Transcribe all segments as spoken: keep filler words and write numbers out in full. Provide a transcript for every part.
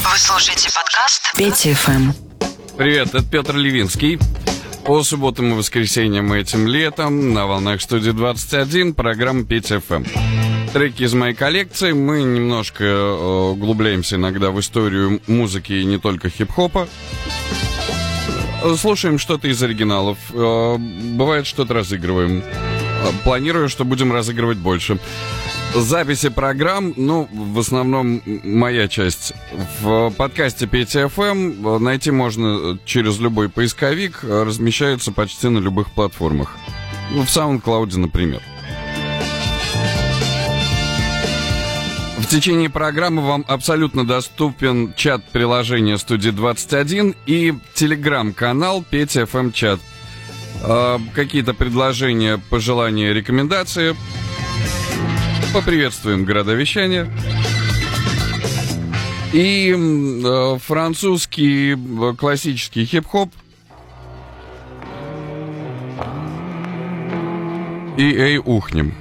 Вы слушаете подкаст Петя эф эм. Привет, это Петр Левинский. По субботам и воскресеньям этим летом на волнах студии двадцать один программа Петя эф эм. Треки из моей коллекции. Мы немножко э, углубляемся иногда в историю музыки и не только хип-хопа. Слушаем что-то из оригиналов. Э, бывает, что-то разыгрываем. Планирую, что будем разыгрывать больше. Записи программ, ну, в основном моя часть. В подкасте Петя эф эм найти можно через любой поисковик, размещается почти на любых платформах. Ну, в SoundCloud, например. В течение программы вам абсолютно доступен чат приложения Студии двадцать один и телеграм-канал Петя эф эм чат. Э, какие-то предложения, пожелания, рекомендации. Поприветствуем города вещания. И э, французский э, классический хип-хоп. И эй, ухнем.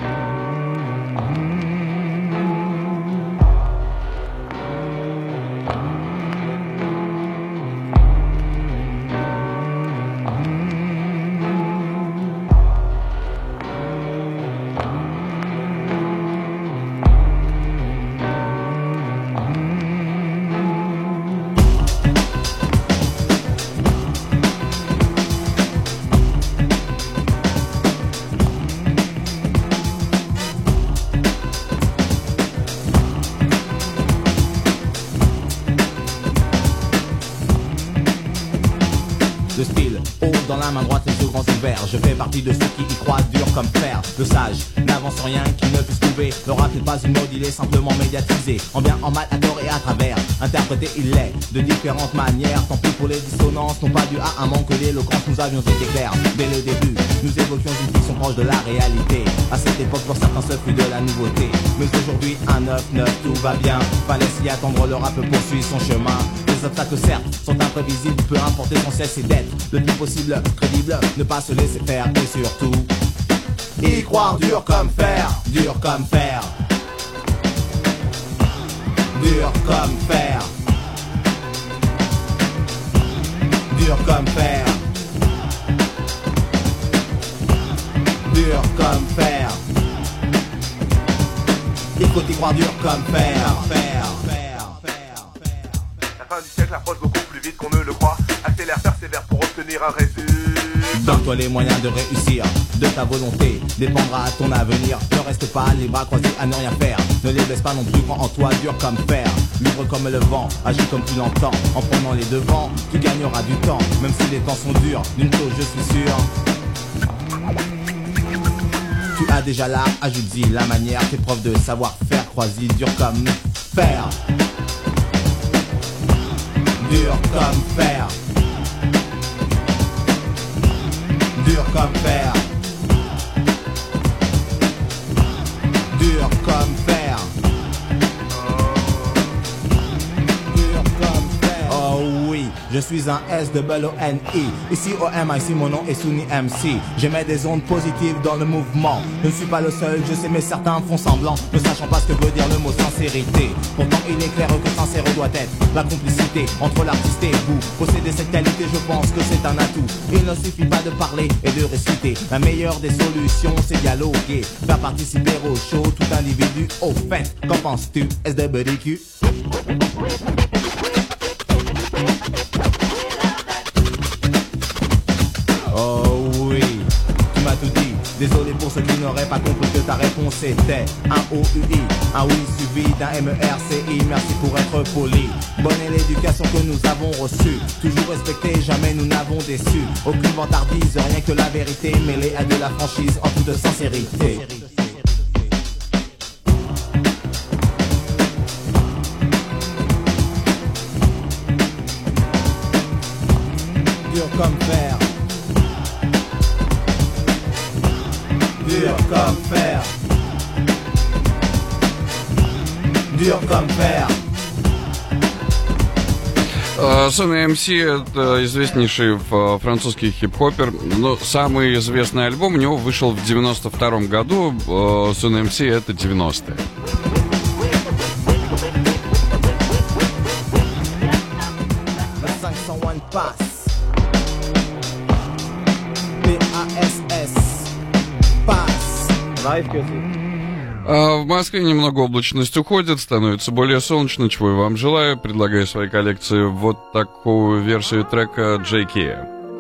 Je fais partie de ceux qui y croient dur comme fer. Le sage n'avance rien qui ne puisse trouver. Le rap n'est pas une mode, il est simplement médiatisé. En bien, en mal, à tort et à travers. Interprété, il l'est de différentes manières. Tant pis pour les dissonances, non pas dû à un manque d'éloquence. Nous avions été clairs dès le début. Nous évoquions une fiction proche de la réalité. À cette époque, pour certains, ce fut de la nouveauté. Mais aujourd'hui, un neuf neuf, tout va bien. Fallait s'y attendre, le rap poursuit son chemin. Les obstacles, certes, sont imprévisibles. Peu importe l'essentiel, c'est d'être le plus possible crédible. Ne pas se laisser faire et surtout y croire dur comme fer, dur comme fer, dur comme fer, dur comme fer, dur comme fer. Il faut y croire dur comme fer, fer, fer, fer, fer. La fin du siècle approche beaucoup plus vite qu'on ne le croit. Accélère, persévère pour obtenir un résultat. Donne-toi les moyens de réussir, de ta volonté dépendra ton avenir. Ne reste pas les bras croisés à ne rien faire. Ne les baisse pas non plus, crois en toi, dur comme fer. Libre comme le vent, agis comme tu l'entends. En prenant les devants, tu gagneras du temps. Même si les temps sont durs, d'une chose je suis sûr. Tu as déjà l'art, ajoute-y la manière. Tes preuves de savoir-faire, crois-y, dur comme fer. Dur comme fer. Dur comme fer. Dur comme fer. Dur comme fer. Oh oui, je suis un S O N I. Ici O M, ici mon nom est Souni M C. J'émets des ondes positives dans le mouvement. Je ne suis pas le seul, je sais mais certains font semblant, ne sachant pas ce que veut dire le mot sincérité. Pourtant il est clair que sincère doit être la complicité entre l'artiste et vous. Posséder cette qualité, je pense que c'est un atout. Il ne suffit pas de parler et de réciter. La meilleure des solutions, c'est dialoguer. Faire participer au show tout individu. Au fait, qu'en penses-tu, S W Q? Oh oui, tu m'as tout dit. Désolé pour ceux qui n'auraient pas compris que ta réponse était un O U I. Un oui suivi d'un M E R C I. Merci pour être poli. Bonne est l'éducation que nous avons reçue. Toujours respectée, jamais nous n'avons déçu. Aucune vantardise, rien que la vérité mêlée à de la franchise en toute sincérité. Dur comme fer. Dur comme fer. Dur comme fer. Сони эм си — это известнейший французский хип-хоппер. Но самый известный альбом у него вышел в девяносто втором году. Сони эм си — это девяностые. someone pass. P A S S. Pass. А в Москве немного облачность уходит, становится более солнечно, чего я вам желаю. Предлагаю своей коллекции вот такую версию трека джей кей.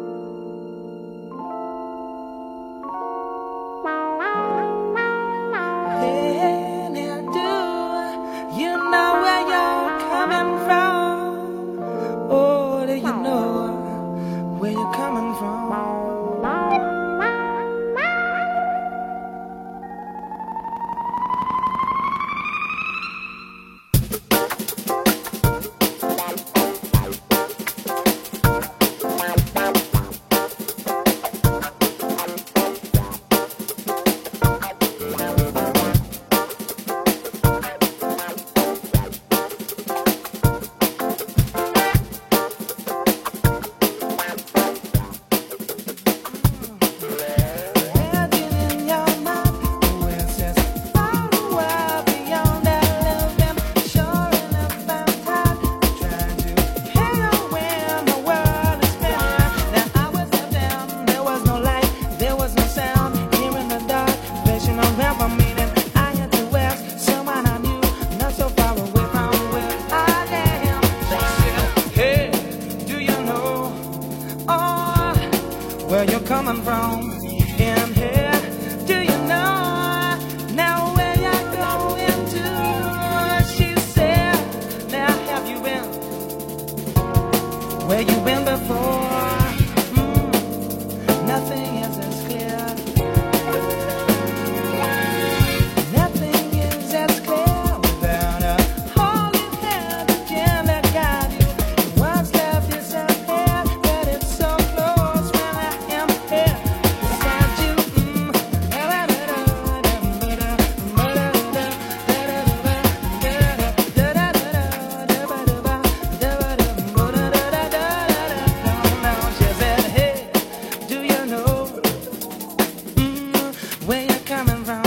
Where you're coming from in here? Do you know now where you're going to? She said, now have you been where you been before? Mm, nothing is as clear. Nothing is as clear without a holy hand again that guide you. What's left is a pair that it's so close when I am here beside you. Mm. She said, hey, do you know mm, where you're coming from?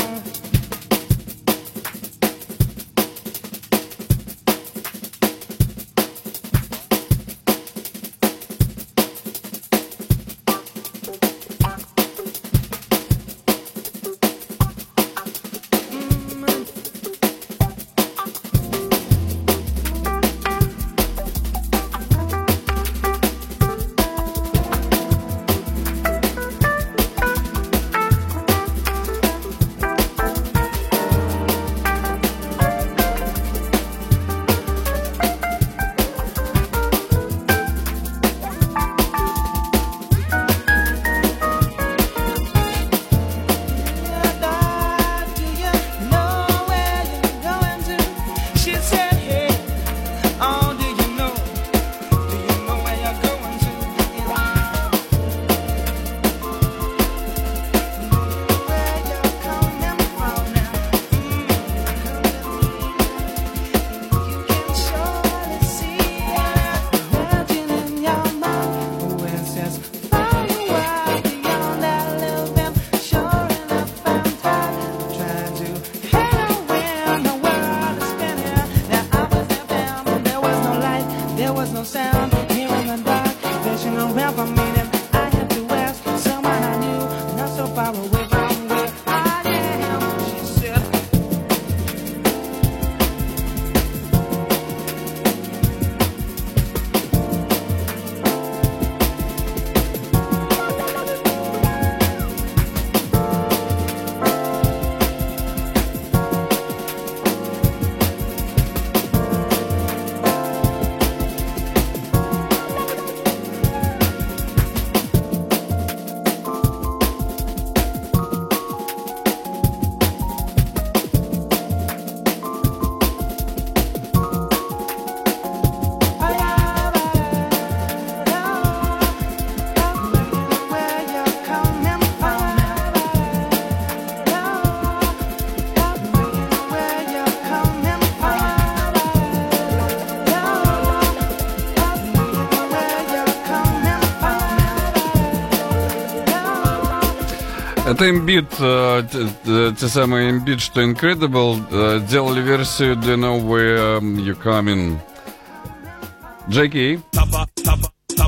Это имбит, э, те, те самые имбит, что Incredible, э, делали версию Do You Know Where You Coming? джей кей. Tapa, tapa, tapa.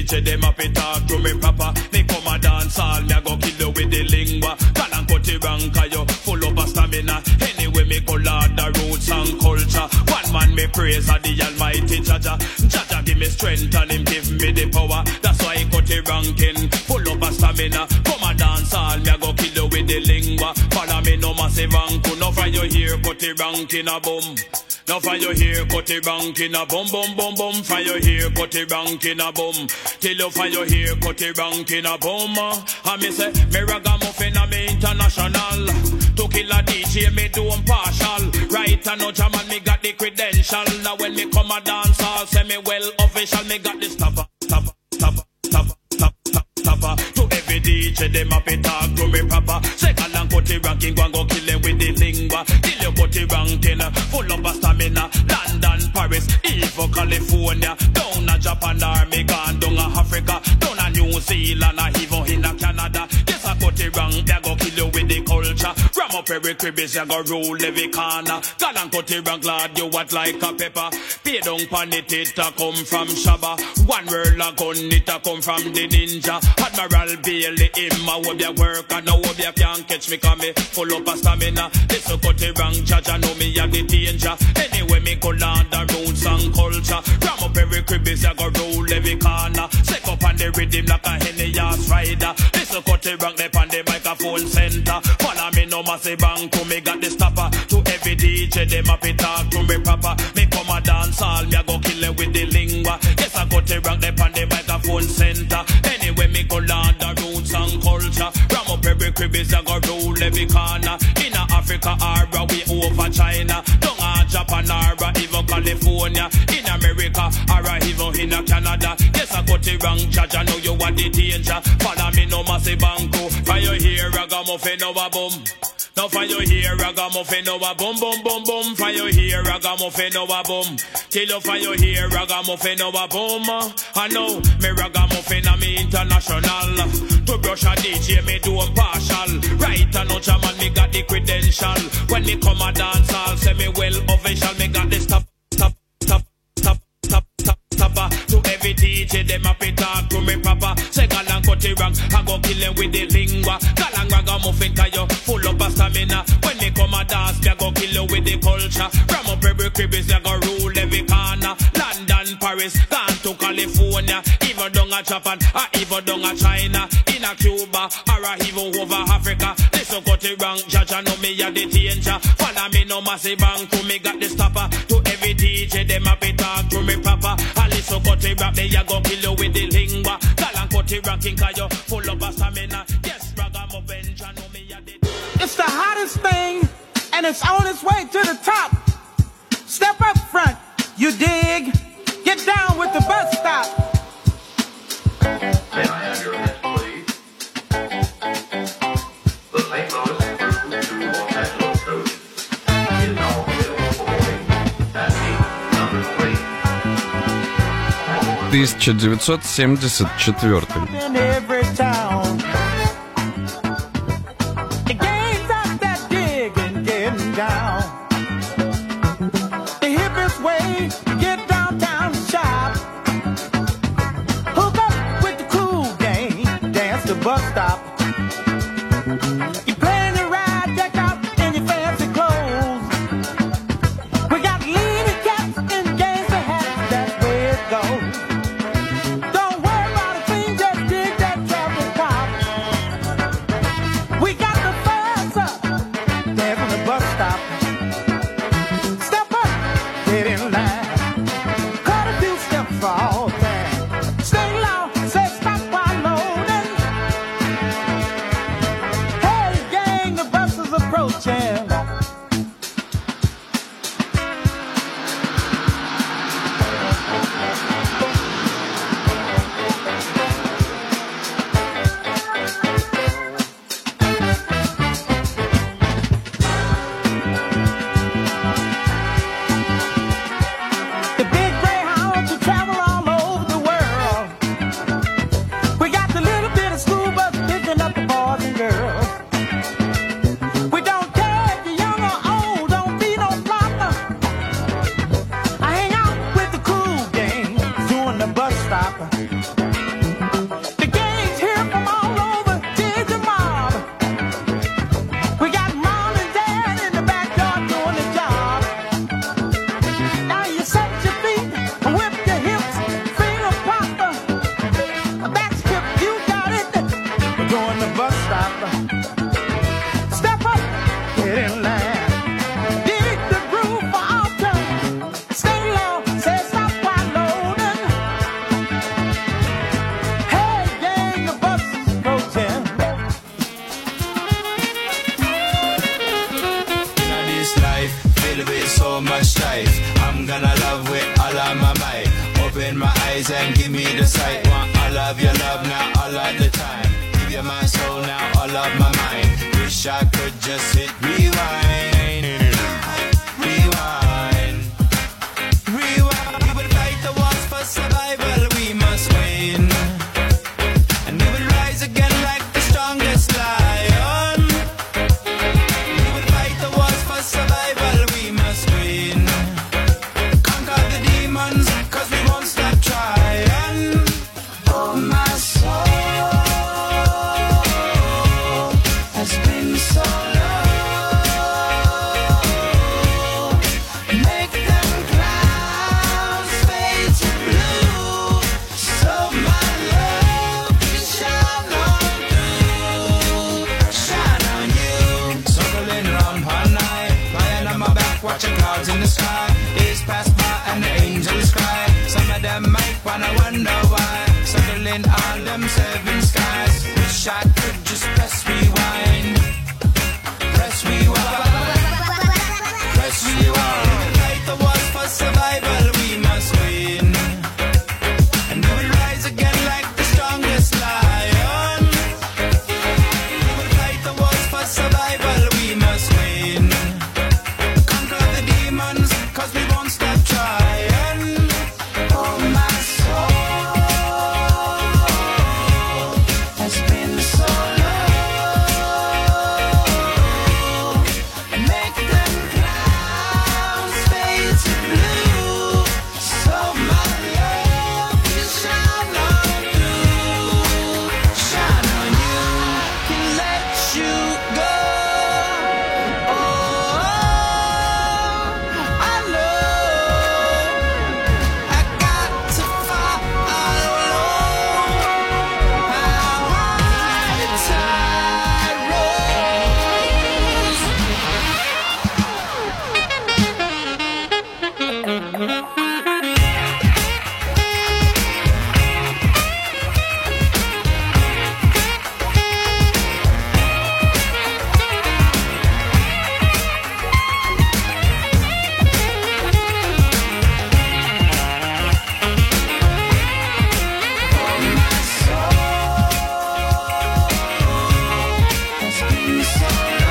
D J them up it talk to me proper. Me come a dance all, me a go kill you with the lingua. Gal and cut it wrong, cause you full up a stamina. Anyway me go lord the roots and culture. One man me praise of the almighty Jaja. Jaja give me strength and him give me the power. That's why he cut it ranking, full up a stamina. Come a dance all, me a go kill you with the lingua. Follow me no massive anku. No for you here, cut it ranking a boom. Now for you here, cut it ranking a boom, boom, boom, boom. For you here, cut it ranking a boom. Till you for you here, cut it ranking a boom. And me say, me ragamuffin a me international. To kill a D J, me do them partial. Right and no jam and me got the credential. Now when me come a dance, I'll say me well official. Me got the stopper, stopper, stopper, stopper, stopper, stopper. To every D J, them up and talk to me proper. Second and cut it ranking, go and go kill them with the lingua. Till you cut it ranking, full up a stamina. London, Paris, even California. Down a Japan, army gone down a Africa. Down a New Zealand, even in a Canada. Yes, I cut it wrong, they go kill you with the culture. Ram up every cribbies, you go rule every corner. God and cut it wrong, glad you what like a pepper. Pay down pan it, it a come from Shabba. One world a gun, it a come from the ninja. Admiral Bailey, him a hope you work. And now hope you can't catch me, cause me full up a stamina. This a cut it wrong, Jaja know me a the danger. Anyway, me go land the roots and culture. Ram up every cribbies, you go rule every corner. Set up on the rhythm like a Henny ass rider. This a cut it wrong, they on the microphone center. Follow me no massive bang to me got the stopper. To every D J, them up it talk to me proper. Me come a dance all, me a go kill it with the lingua. Yes, I cut it wrong, they on the microphone center. Anyway, me go land the roots and culture. Ram up every cribbies, I go rule every corner. In Africa, or we over China. Down a Japan, or even California. In America, or even in Canada. Yes, I got it wrong, Jaja, know you are the danger. Follow me no massive banco. For you here, ragamuffin over boom. Now for you here, ragamuffin over boom, boom, boom, boom. For you here, ragamuffin over boom. Till you for you here, ragamuffin over boom. I know, me ragamuffin and me international. To brush a D J, me do them partial. Right and no jam and me got the credential. When me come a dance, I'll say me well official. Me got the stop, stop, stop, stop, stop, stop, stopper. To every D J, them up it talk to me proper. Say gal and cut it wrong, I go kill them with the lingua. Gal and ragamuffin, cause you full up a stamina. When me come a dance, me go kill you with the culture. Ram up every cribbies, you go rule every corner. London, Paris, gone to California. Even down a Japan, or even down a China. In a Cuba, or even over Africa. This so cut it wrong, Jaja know me a the danger. Follow me no massive bang to me got the stopper. To every D J, them up it talk to me proper. A little cut it wrong, they a go kill you with the lingua. Gal and cut it rocking, cause you full up a stamina. Yes, ragamuffin, Jaja know me a the It's the hottest thing, and it's on its way to the top. Step up front, you dig? Get down with the bus stop. May I have your list, please? The Saint Louis through to Los Angeles coach is now available for boarding at gate number three. тысяча девятьсот семьдесят четвёртый. In every town. The gangs out that dig and getting down. The hippest way to get downtown to shop. Hook up with the cool gang, dance the bus stop. You plan to ride, deck out in your fancy clothes. We got leaning cats and gangster hats, that's where it goes. Don't worry about a thing, just dig that traffic cop. We got the bus up, dance on the bus stop. Step up, get in line. Cut a few steps for all time. Stay low, say stop while loading. life. I'm gonna love with all of my might. Open my eyes and give me the sight. Want all of your love now, all of the time. Give you my soul now, all of my mind. Wish I could just hit rewind. Rewind. Rewind. We would fight the wars for survival, we must win. And we would rise again like the strongest lion. We would fight the wars for survival, we must win. Conquer the demons, cause we won't stop trying. Oh, my soul has been so low. Make them clouds fade to blue, so my love can shine on through, shine on you. Circling round all night, lying on my back, watching clouds in the sky. Days pass by and the angels cry. Some of them might wanna wonder why. Circling all them seven skies. Wish I could just press rewind. Press rewind. Press rewind. Fight the wars for survival, we must win. And we will rise again like the strongest lion. We will fight the wars for survival, we must win. Conquer the demons, cause we won't stop trying. Oh, my soul has been so low. Make them clouds fade to blue, so my love can shine on through, shine on you. Can let you go. Oh, I know I got to follow how high the tide rolls. Has been so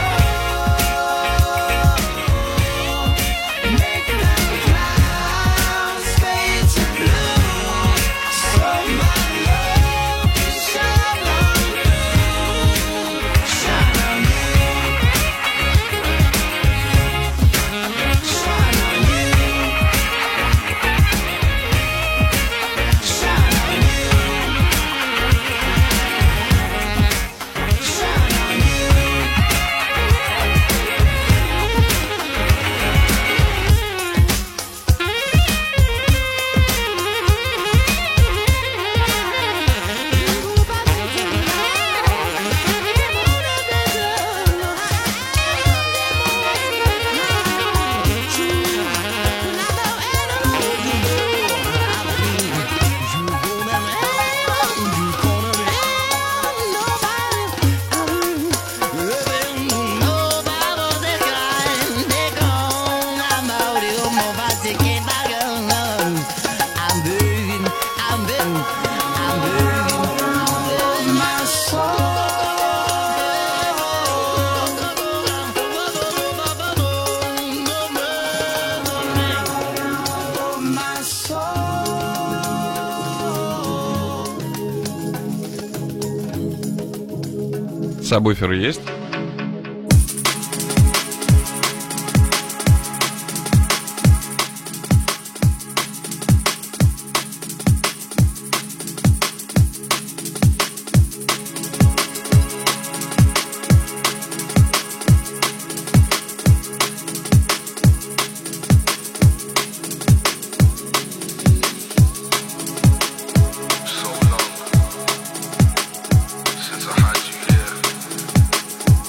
low. Make them clouds fade to blue, so my love can shine on through, shine on you, shine on you, shine on you, shine on you. My soul, my soul. Сабвуферы есть? So long since I had you here.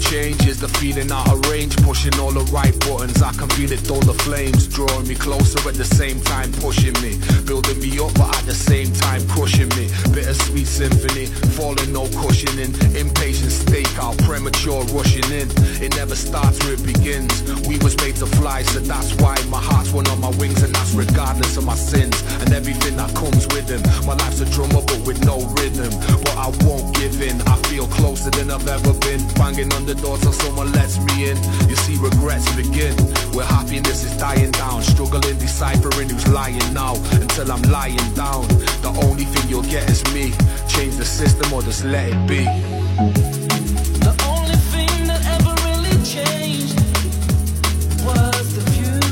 change is the feeling out of range, pushing all the right buttons. I can feel it, all the flames drawing me closer at the same time, pushing me, building me up, but at the same time crushing me. Bittersweet symphony, falling, no cushioning. Impatient stakeout, premature rushing in. It never starts where it begins. We was made to fly, so that's why my heart's one on my wings, and that's regardless of my sins and everything that comes with them. My life's a drummer, but with no rhythm. But I won't give in. I feel closer than I've ever been, banging on the door till someone lets me in. You see, regrets begin where happiness is dying down, struggling, deciphering who's lying now, until I'm lying down. The only thing you'll get is me. Change the system or just let it be. The only thing that ever really changed was the view.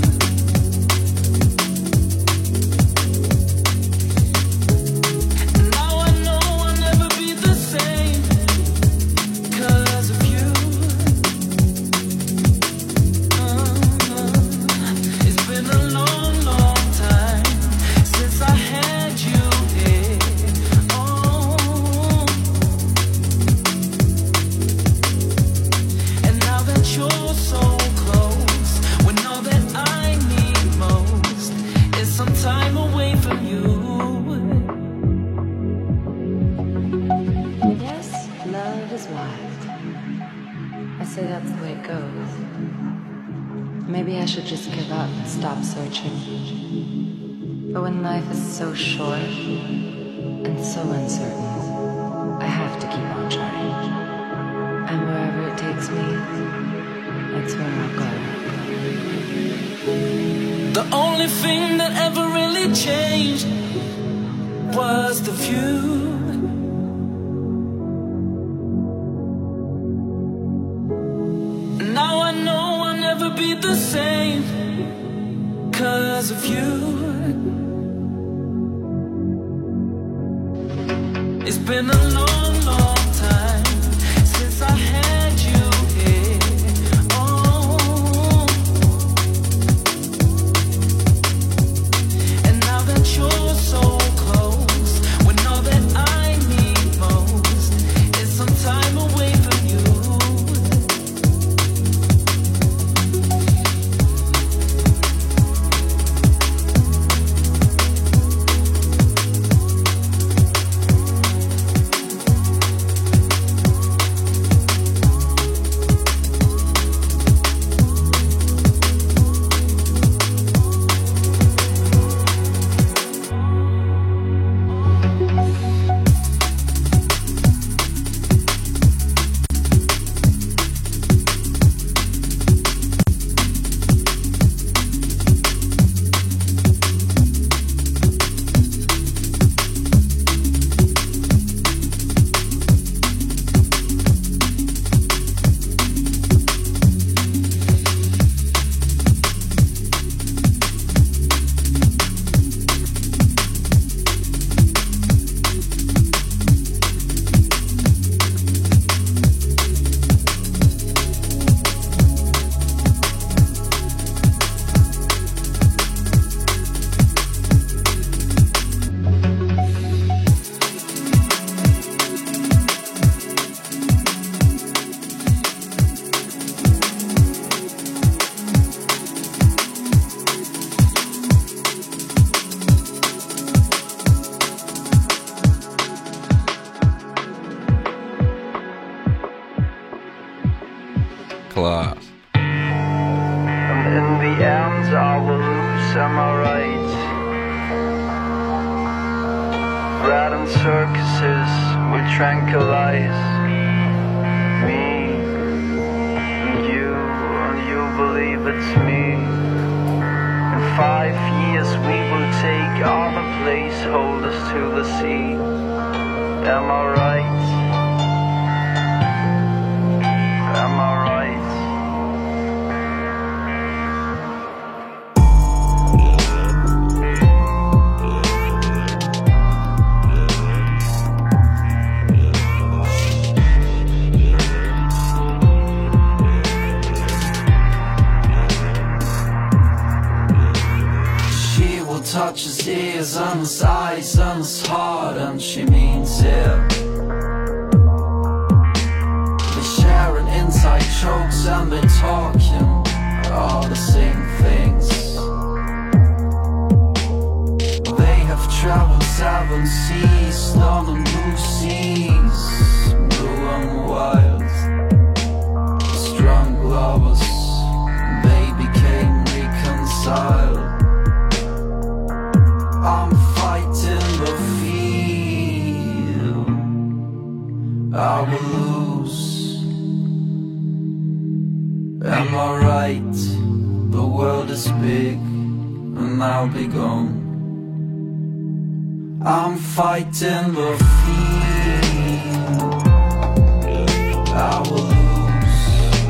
And now I know I'll never be the same 'cause of you. Uh-huh. It's been a long, long time since I had you here. Oh. And now that you're so close, when all that I need most is some time away from you. Yes, love is wild. I say that's the way it goes. Maybe I should just give up and stop searching. But when life is so short and so uncertain, I have to keep on trying. And wherever it takes me, that's where I'll go. The only thing that ever really changed was the view. Now I know I'll never be the same 'cause of you. It's been a long, long time since I had you here. Oh. And now that you're so close, when all that I need most is some time away from you. Класс. And in the end I will lose, am I right? Bread and circuses will tranquilize me and you, and you believe it's me. In five years we will take other placeholders to the sea. Am I right? Am I right? Touch his ears and his eyes and his heart, and she means it. They share an inside and they're talking all the same things. They have traveled seven seas, London blue seas, blue and wild, strong lovers, they became reconciled. I'm fighting the field, I will lose. Am I right? The world is big and I'll be gone. I'm fighting the field, I will lose.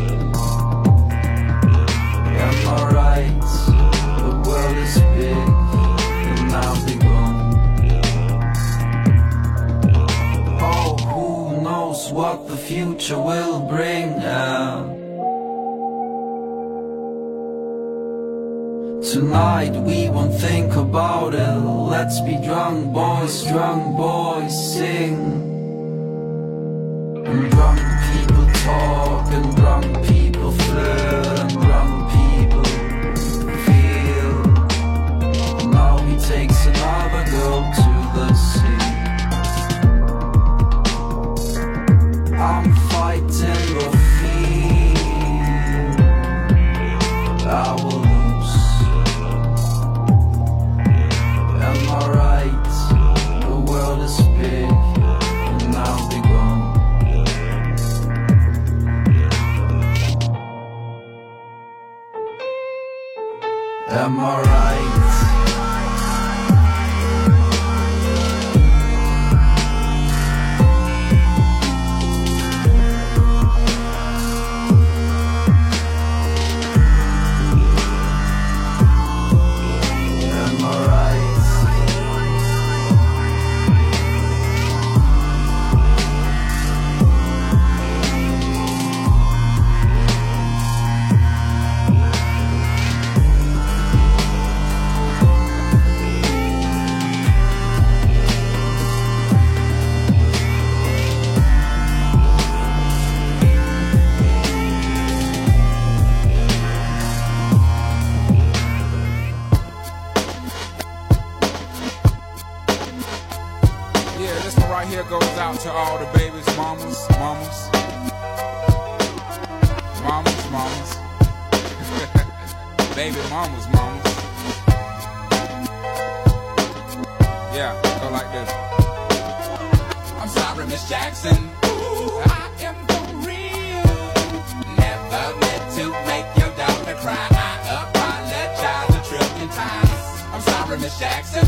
Am I right? The world is big and I'll be gone. Oh, who knows what the future will bring out. Tonight we won't think about it. Let's be drunk boys, drunk boys sing. And drunk people talk, and drunk people flirt, and drunk people feel. Now he takes another girl to the sea. I'm fighting the field, I will. Am I right? The world is big and I'll be gone. Am I right? Goes out to all the babies, mamas, mamas, mamas, mamas, baby mamas, mamas. Yeah, go like this. I'm sorry, Miss Jackson. Ooh, I am for real. Never meant to make your daughter cry. I apologize a trillion times. I'm sorry, Miss Jackson.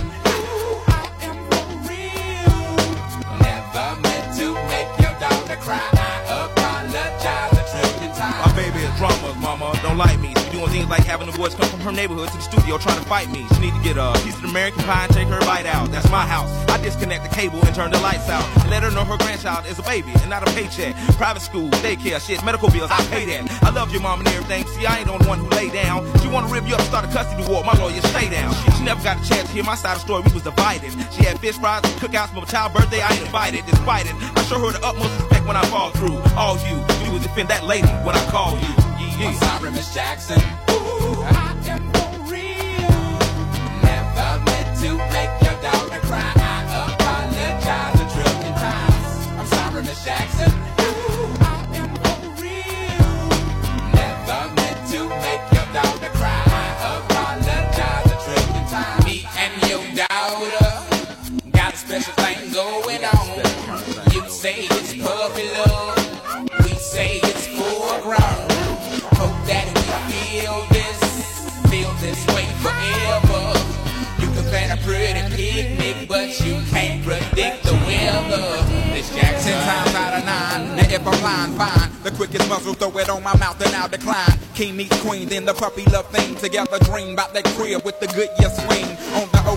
Cry, I apologize a trillion times. My baby is drama, mama, don't like me. She doing things like having the boys come from her neighborhood to the studio trying to fight me. She need to get a piece of American pie and take her bite out. That's my house. I disconnect the cable and turn the lights out. Let her know her grandchild is a baby and not a paycheck. Private school, daycare, shit, medical bills, I pay that. I love your mom and everything. See, I ain't the only one who lay down. She wanna rip you up, start a custody war. My lawyer, stay down. She never got a chance to hear my side of the story. We was divided. She had fish fries and cookouts for my child's birthday. I ain't invited, despite it. I show her the utmost respect when I fall through. All you, you would defend that lady when I call you. Yeah, yeah. I'm sorry, Miss Jackson. Ooh, I am for real. Never meant to make your daughter cry. I apologize a trillion times. I'm sorry, Miss Jackson. Ooh, I am for real. Never meant to make your daughter cry. I apologize a trillion times. Me and your daughter got a special thing going on. You say it's puppy love, we say it's foreground. Hope that we feel this, feel this way forever. You can plan a pretty picnic, but you can't predict the weather. Miss Jackson. Ten times out of nine, and if I'm lying, fine. The quickest muzzle, throw it on my mouth and I'll decline. King meets queen, then the puppy love thing. Together dream about that crib with the good yes swing. On the oak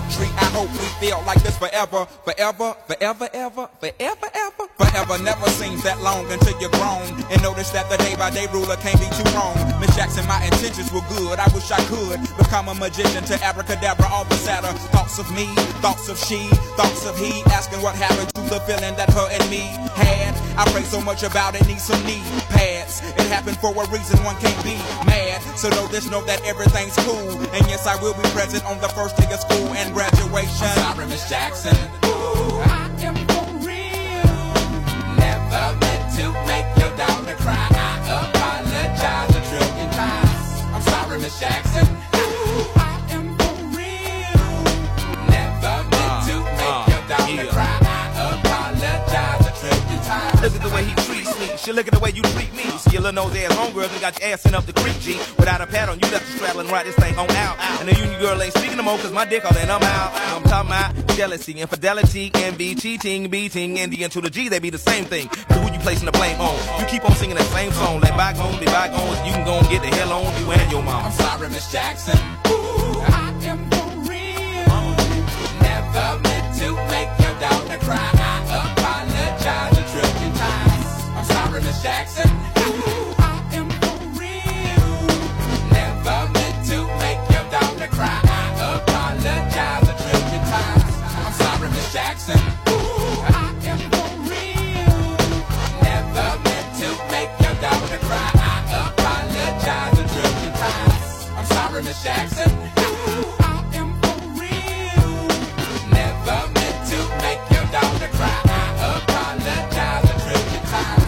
treat. I hope we feel like this forever, forever, forever, ever, forever, ever. Forever never seems that long until you're grown and notice that the day by day ruler can't be too wrong. Miss Jackson, my intentions were good. I wish I could become a magician to abracadabra all the sadder. Thoughts of me, thoughts of she, thoughts of he, asking what happened to the feeling that her and me had. I pray so much about it, need some knee pads. It happened for a reason, one can't be mad. So know this, know that everything's cool. And yes, I will be present on the first day of school and graduation. I'm sorry, Miss Jackson. Ooh, I am for real. Never meant to make your daughter cry. I apologize a trillion times. I'm sorry, Miss Jackson. Ooh, I am for real. Never meant to make your daughter cry. I apologize a trillion times. Look at the way he treats me. She look at the way you treat me. See your little nose ass homegirl and got your ass sent up the creek, G. Without a pad on, you left the straddle and ride this thing on out. And the union girl ain't speaking no more cause my dick all in, I'm out. I'm talking about jealousy, infidelity, envy, cheating, beating, and the N to the G, they be the same thing. But who you placing the blame on? You keep on singing that same song. Let bygones be bygones. You can go and get the hell on you and your mom. I'm sorry, Miss Jackson. Ooh, I am for real. Never meant to make your daughter cry. I apologize a trillion times. I'm sorry, Miss Jackson. Ooh, I am for real. Never meant to make your daughter cry. I apologize a trillion times. I'm sorry, Miss Jackson. Ooh, I am for real. Never meant to make your daughter cry. I apologize a trillion times. I'm sorry, Miss Jackson. Ooh, I am for real. Never meant to make your daughter cry. I apologize a trillion times.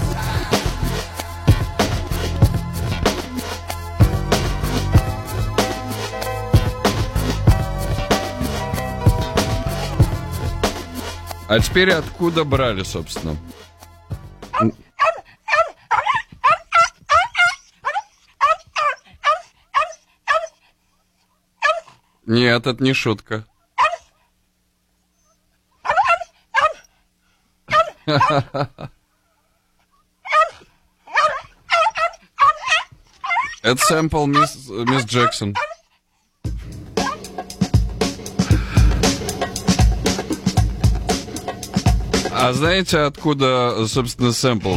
А теперь откуда брали, собственно? Нет, это не шутка. Это сэмпл мисс, мисс Джексон. А знаете, откуда, собственно, сэмпл?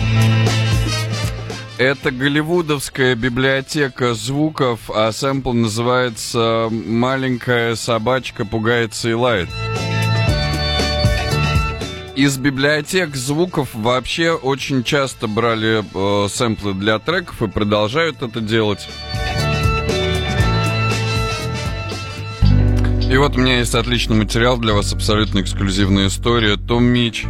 Это голливудовская библиотека звуков, а сэмпл называется «Маленькая собачка пугается и лает». Из библиотек звуков вообще очень часто брали э, сэмплы для треков и продолжают это делать. И вот у меня есть отличный материал для вас, абсолютно эксклюзивная история. Том Мич.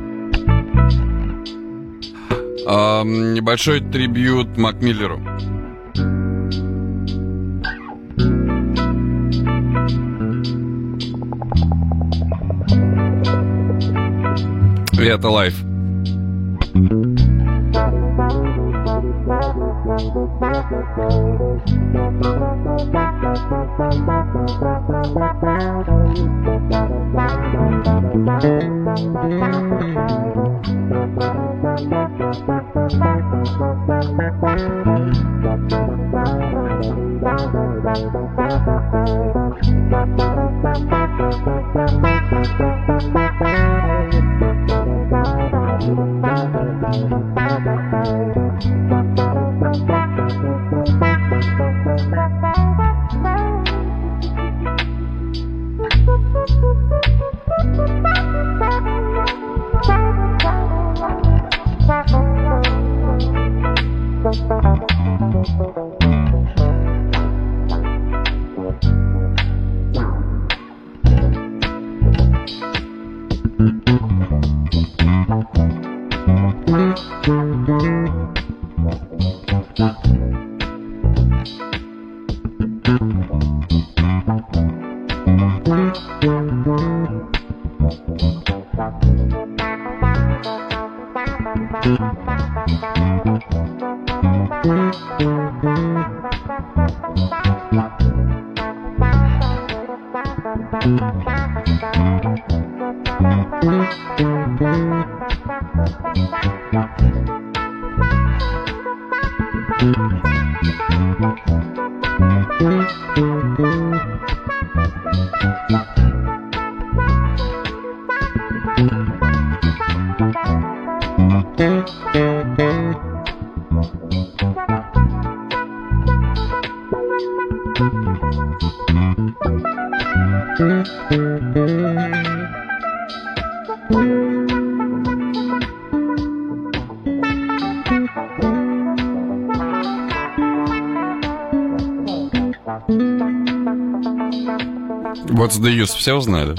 Э, небольшой трибьют Мак Миллеру. И это лайф. What's the use? Все узнали?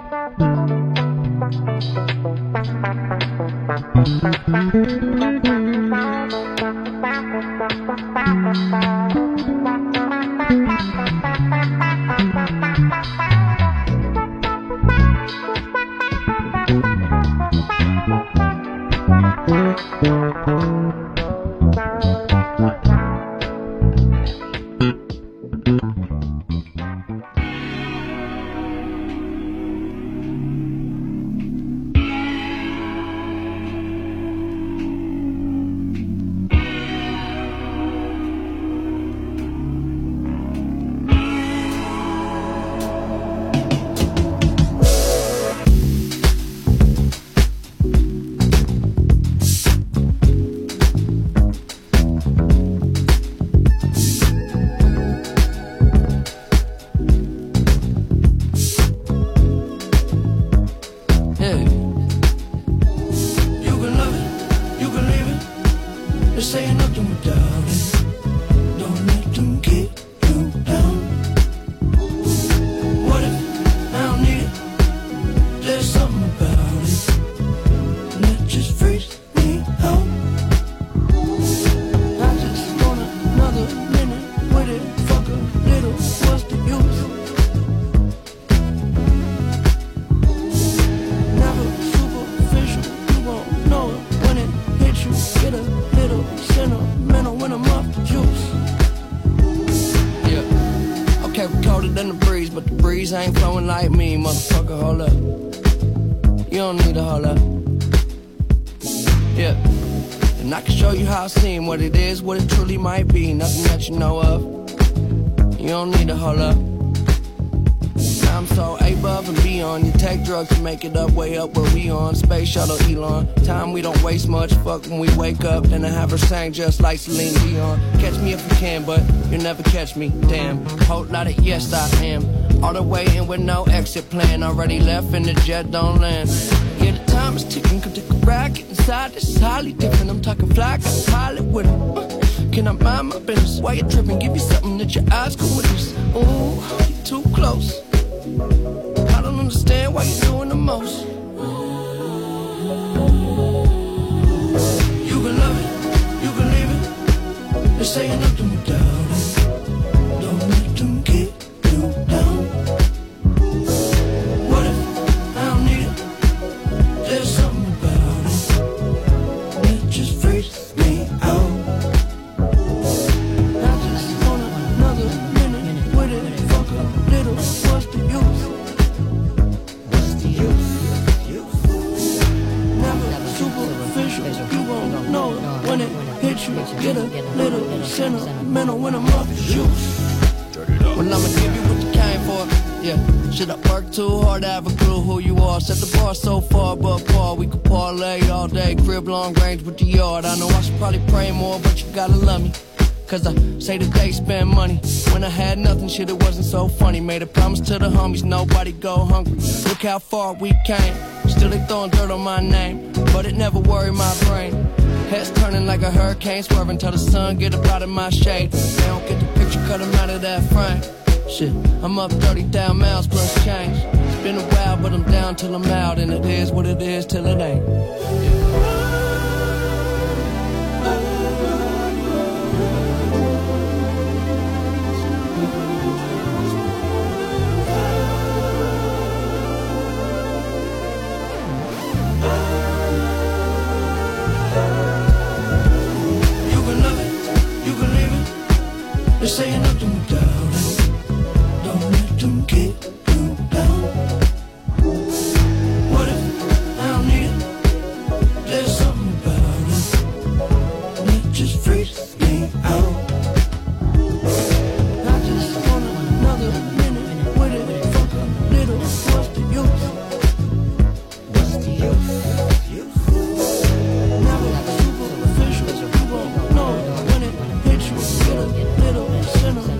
Ain't flowing like me, motherfucker, hold up. You don't need to hold up. Yeah. And I can show you how it seems, what it is, what it truly might be. Nothing that you know of. You don't need to hold up. I'm so above and beyond. You take drugs to make it up, way up where we on. Space shuttle Elon. Time we don't waste much. Fuck when we wake up. Then I have her sang just like Celine Dion. Catch me if you can, but you'll never catch me. Damn. Whole lot of yes I am. All the way in with no exit plan. Already left and the jet don't land. Yeah, the time is ticking. Come take a ride, get inside. This is highly different. I'm talking fly, got a pilot with him. Uh, can I mind my business? Why you tripping? Give you something that your eyes can witness. Ooh, you too close. I don't understand why you're doing the most. You can love it, you can leave it. They're saying nothing without it. Don't let them keep you down. What if I don't need it? There's something about it that just freaks me out. I just want another minute with it. Fuck a little, what's the use? What's the use? Never superficial, you won't know it when it hits you. Get a little sentimental when I'm off the juice. Well, I'ma give you what you came for. Yeah, should I work too hard to have a clue who you are? Set the bar so far, but Paul, we could parlay all day. Crib long range with the yard. I know I should probably pray more, but you gotta love me. Cause I say that they spend money. When I had nothing, shit, it wasn't so funny. Made a promise to the homies, nobody go hungry. Look how far we came. Still they throwing dirt on my name, but it never worried my brain. Heads turning like a hurricane, swerving till the sun get up out of my shade. They don't get the picture, cut them out of that frame. Shit, I'm up thirty thousand miles plus change. It's been a while, but I'm down till I'm out. And it is what it is till it ain't. You can love it, you can leave it. They're saying nothing without it. Don't let them keep you down. What if I don't need it? There's something about it that just freaks me out. I just want another minute with it. Fuck a little, what's the use? What's the use? Never superficial, you won't know when it hits you. Get a little sentimental.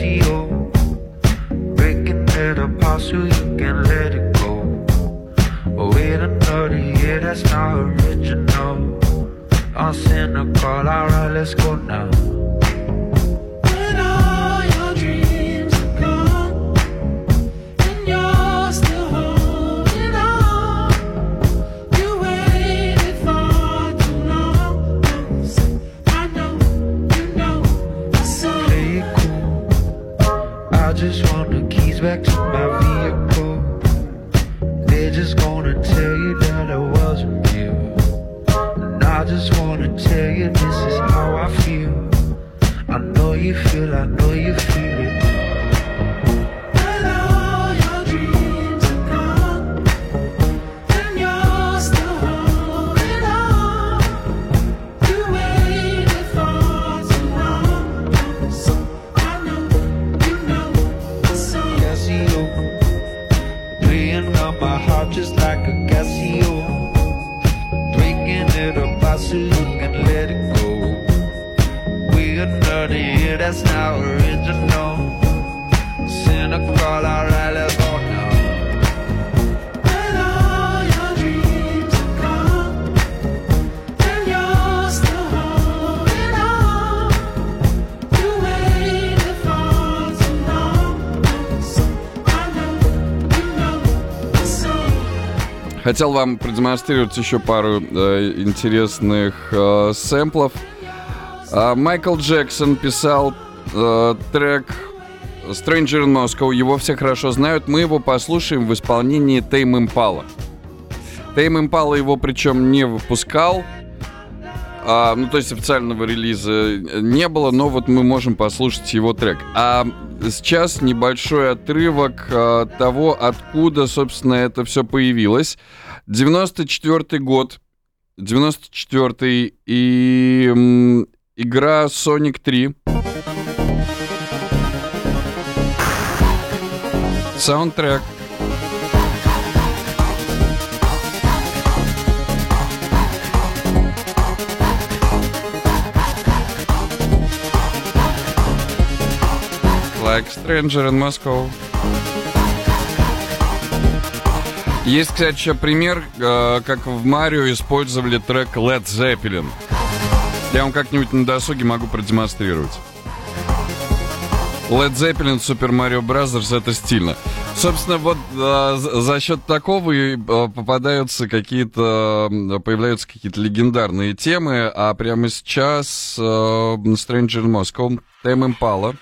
Casio, breaking it apart so you can let it go. Oh, wait another year, that's not original. I'm cynical, alright, let's go now. When all your dreams are gone and you're still holding on, you waited for too long. I know, you know, the song. Play it cool, I just want the keys back to my vehicle. They're just gonna tell you that I wasn't real. I just wanna tell you this is how I feel. I know you feel, I know you feel it. When all your dreams are gone and you're still holding on, you waited for too long. I know, you know the song. Casio, playing on my heart just like a Casio, breaking it apart so you can let it go. We another year, that's not original. Cynical, alright, let's go now. When all your dreams are gone and you're still holding on, you waited for too long. I know, you know the song. Хотел вам продемонстрировать еще пару э, интересных э, сэмплов. А, Майкл Джексон писал э, трек Stranger in Moscow. Его все хорошо знают. Мы его послушаем в исполнении Tame Impala. Tame Impala его причем не выпускал. А, ну, то есть официального релиза не было, но вот мы можем послушать его трек. А сейчас небольшой отрывок а, того, откуда, собственно, это все появилось. девяносто четвёртый год. девяносто четвёртый и м, игра Sonic три. Саундтрек. Like Stranger in Moscow. Есть, кстати, еще пример, э, как в Марио использовали трек Led Zeppelin. Я вам как-нибудь на досуге могу продемонстрировать. Led Zeppelin, Super Mario Bros. Это стильно. Собственно, вот э, за счет такого и э, попадаются какие-то, э, появляются какие-то легендарные темы, а прямо сейчас э, Stranger in Moscow, Tame Impala.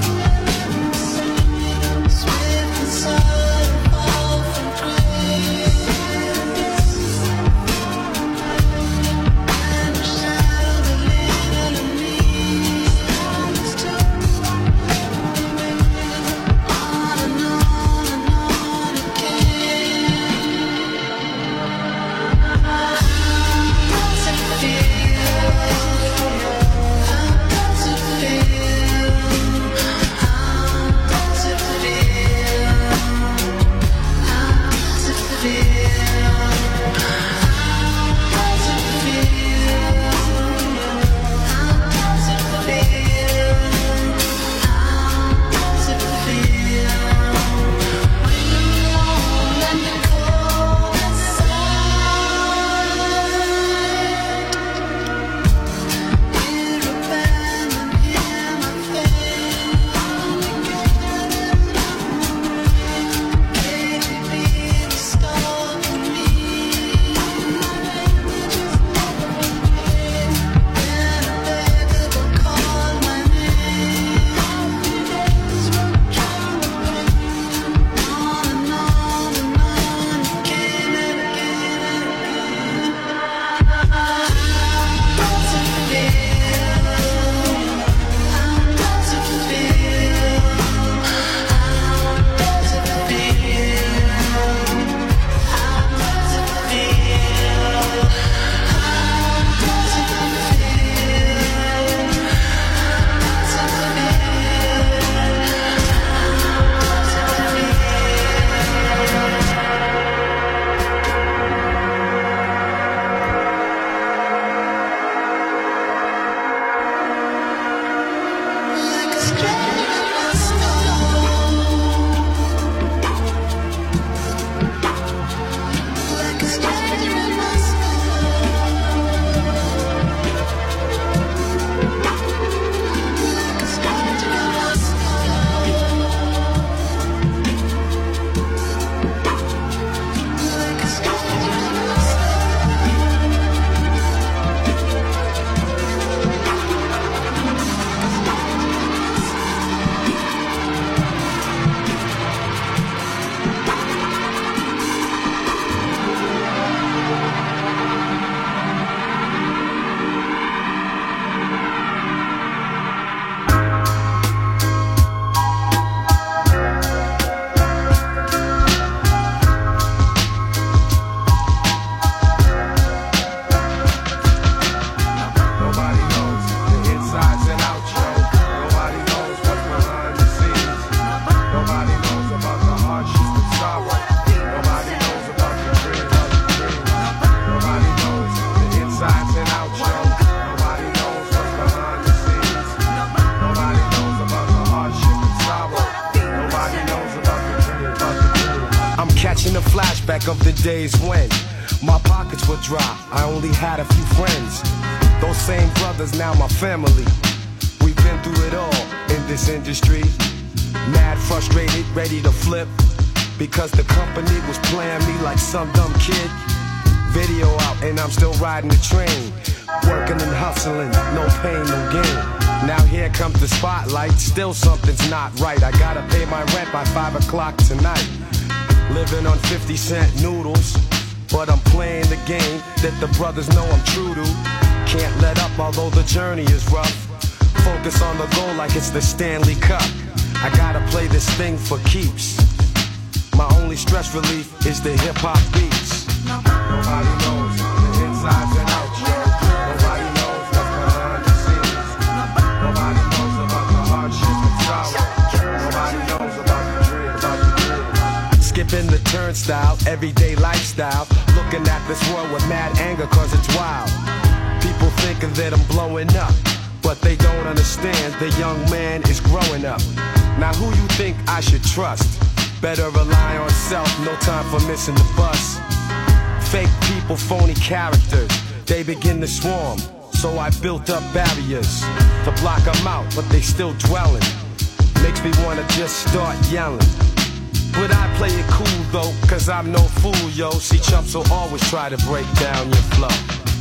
Swift and slow, fall from grace. days when my pockets were dry, I only had a few friends. Those same brothers, now my family. We've been through it all in this industry. Mad, frustrated, ready to flip, because the company was playing me like some dumb kid. Video out and I'm still riding the train, working and hustling, no pain, no gain. Now here comes the spotlight, still something's not right. I gotta pay my rent by five o'clock tonight. Living on fifty cent noodles, but I'm playing the game that the brothers know I'm true to. Can't let up although the journey is rough. Focus on the goal like it's the Stanley Cup. I gotta play this thing for keeps. My only stress relief is the hip hop beats. Nobody knows the insides and outs. Nobody knows what's behind the scenes. Nobody knows about the hardship and sorrow. Nobody knows about the dream, about the dream. Skipping the turnstile, everyday lifestyle. Looking at this world with mad anger cause it's wild. People thinking that I'm blowing up, but they don't understand the young man is growing up. Now who you think I should trust? Better rely on self, no time for missing the bus. Fake people, phony characters, they begin to swarm. So I built up barriers to block them out, but they still dwelling. Makes me wanna just start yelling. But I play it cool though, cause I'm no fool, yo. See, chumps will always try to break down your flow.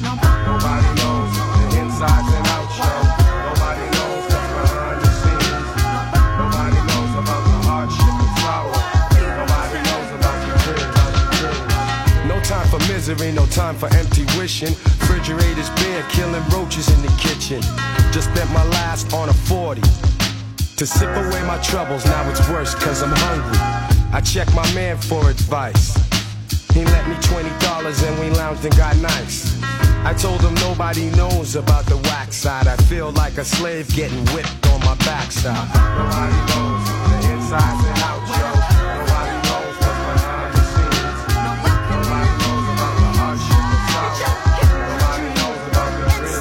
Nobody knows the insides and outs, yo. Nobody knows what's behind the scenes. Nobody knows about the hardship and sorrow. Nobody knows about your dreams, about your dreams. No time for misery, no time for empty wishing. Refrigerators bare, killing roaches in the kitchen. Just spent my last on a forty to sip away my troubles. Now it's worse cause I'm hungry. I checked my man for advice. He lent me twenty dollars and we lounged and got nice. I told him nobody knows about the whack side. I feel like a slave getting whipped on my backside. Nobody knows the insides and outs, yo. Nobody knows what's behind the scenes. Nobody knows about the hardship and sorrow. Nobody knows about the dreams.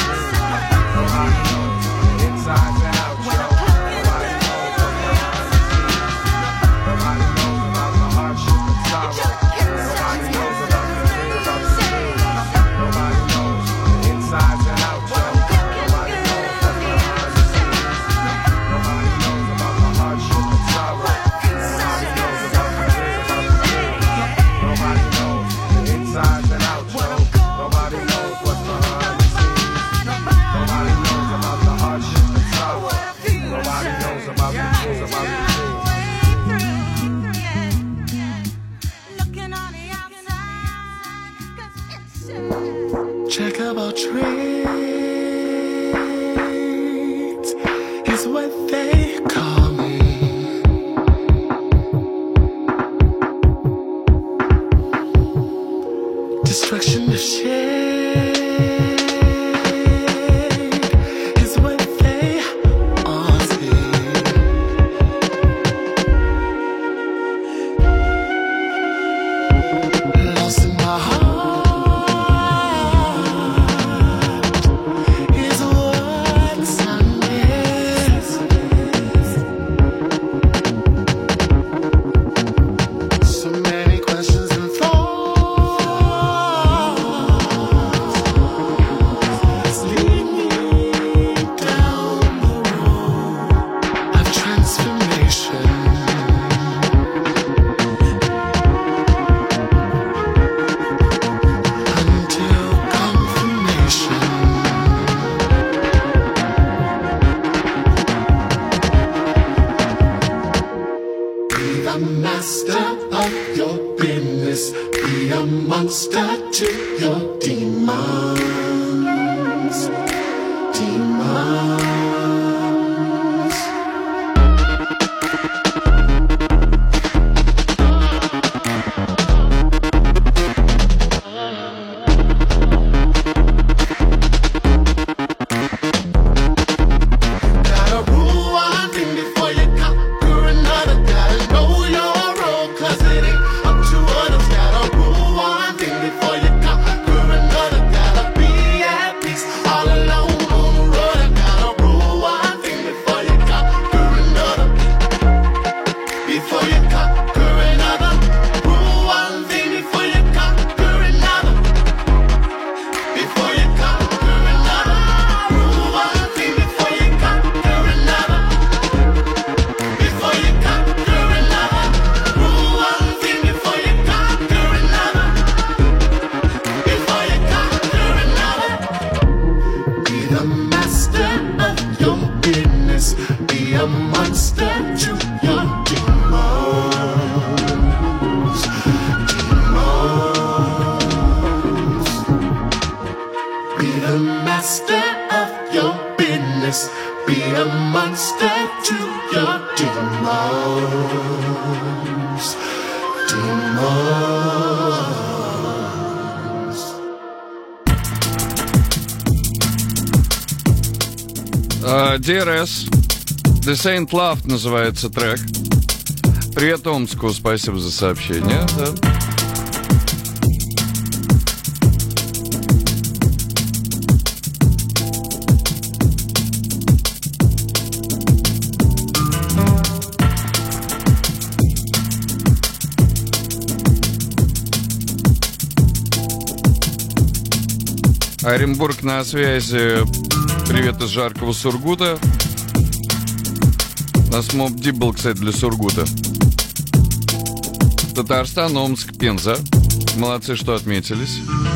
Nobody knows the insides and outs, yo. Nobody knows what's behind the scenes. Nobody knows about the hardship and sorrow. Nobody knows about the dreams, about the dreams. Nobody knows the insides and outs, yo. Nobody knows what's behind the scenes. Nobody knows about the hardship and sorrow. Nobody knows about the dreams, about the dreams. Nobody knows the insides and outs, yo. Nobody knows what's behind the scenes. Nobody knows about the hardship and sorrow. Nobody knows about the dreams, about the dreams. Checkerboard trades is what they call me. Destruction of shade is what they all say. Lost in my heart. All alone on the road, I gotta Uh, ди ар эс. This Ain't Love называется трек. Привет Омску, спасибо за сообщение. Да. Оренбург на связи. Привет из жаркого Сургута. У нас Моб Дип был, кстати, для Сургута. Татарстан, Омск, Пенза. Молодцы, что отметились.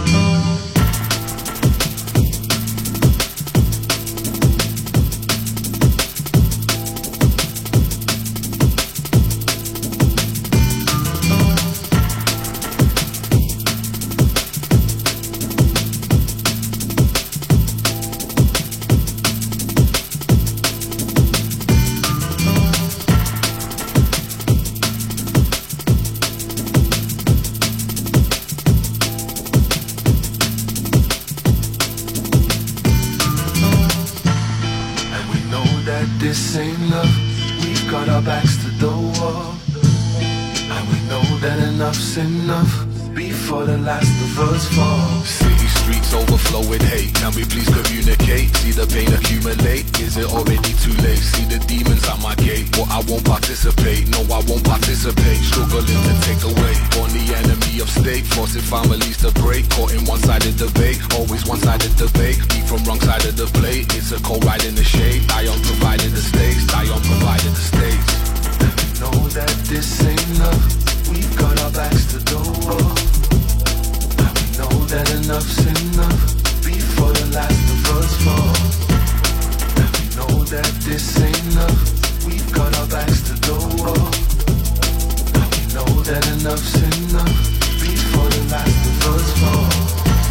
This ain't love, we've got our backs to the wall. And we know that enough's enough before the last of us fall. City streets overflow with hate. Can we please communicate? See the pain accumulate. Is it already too late? See the demons at my gate. But I won't participate. No, I won't participate. Struggling to take away. Born the enemy of state. Forcing families to break. Caught in one-sided debate. Always one-sided debate. Eat from wrong side of the plate. It's a cold ride in the shade. I on provided the stakes. I on provided the stakes. And we know that this ain't love. We've got our backs to the wall. And we know that enough's enough before the last of us fall. And we know that this ain't love. We've got our backs to the wall. And we know that enough's enough before the last of us fall.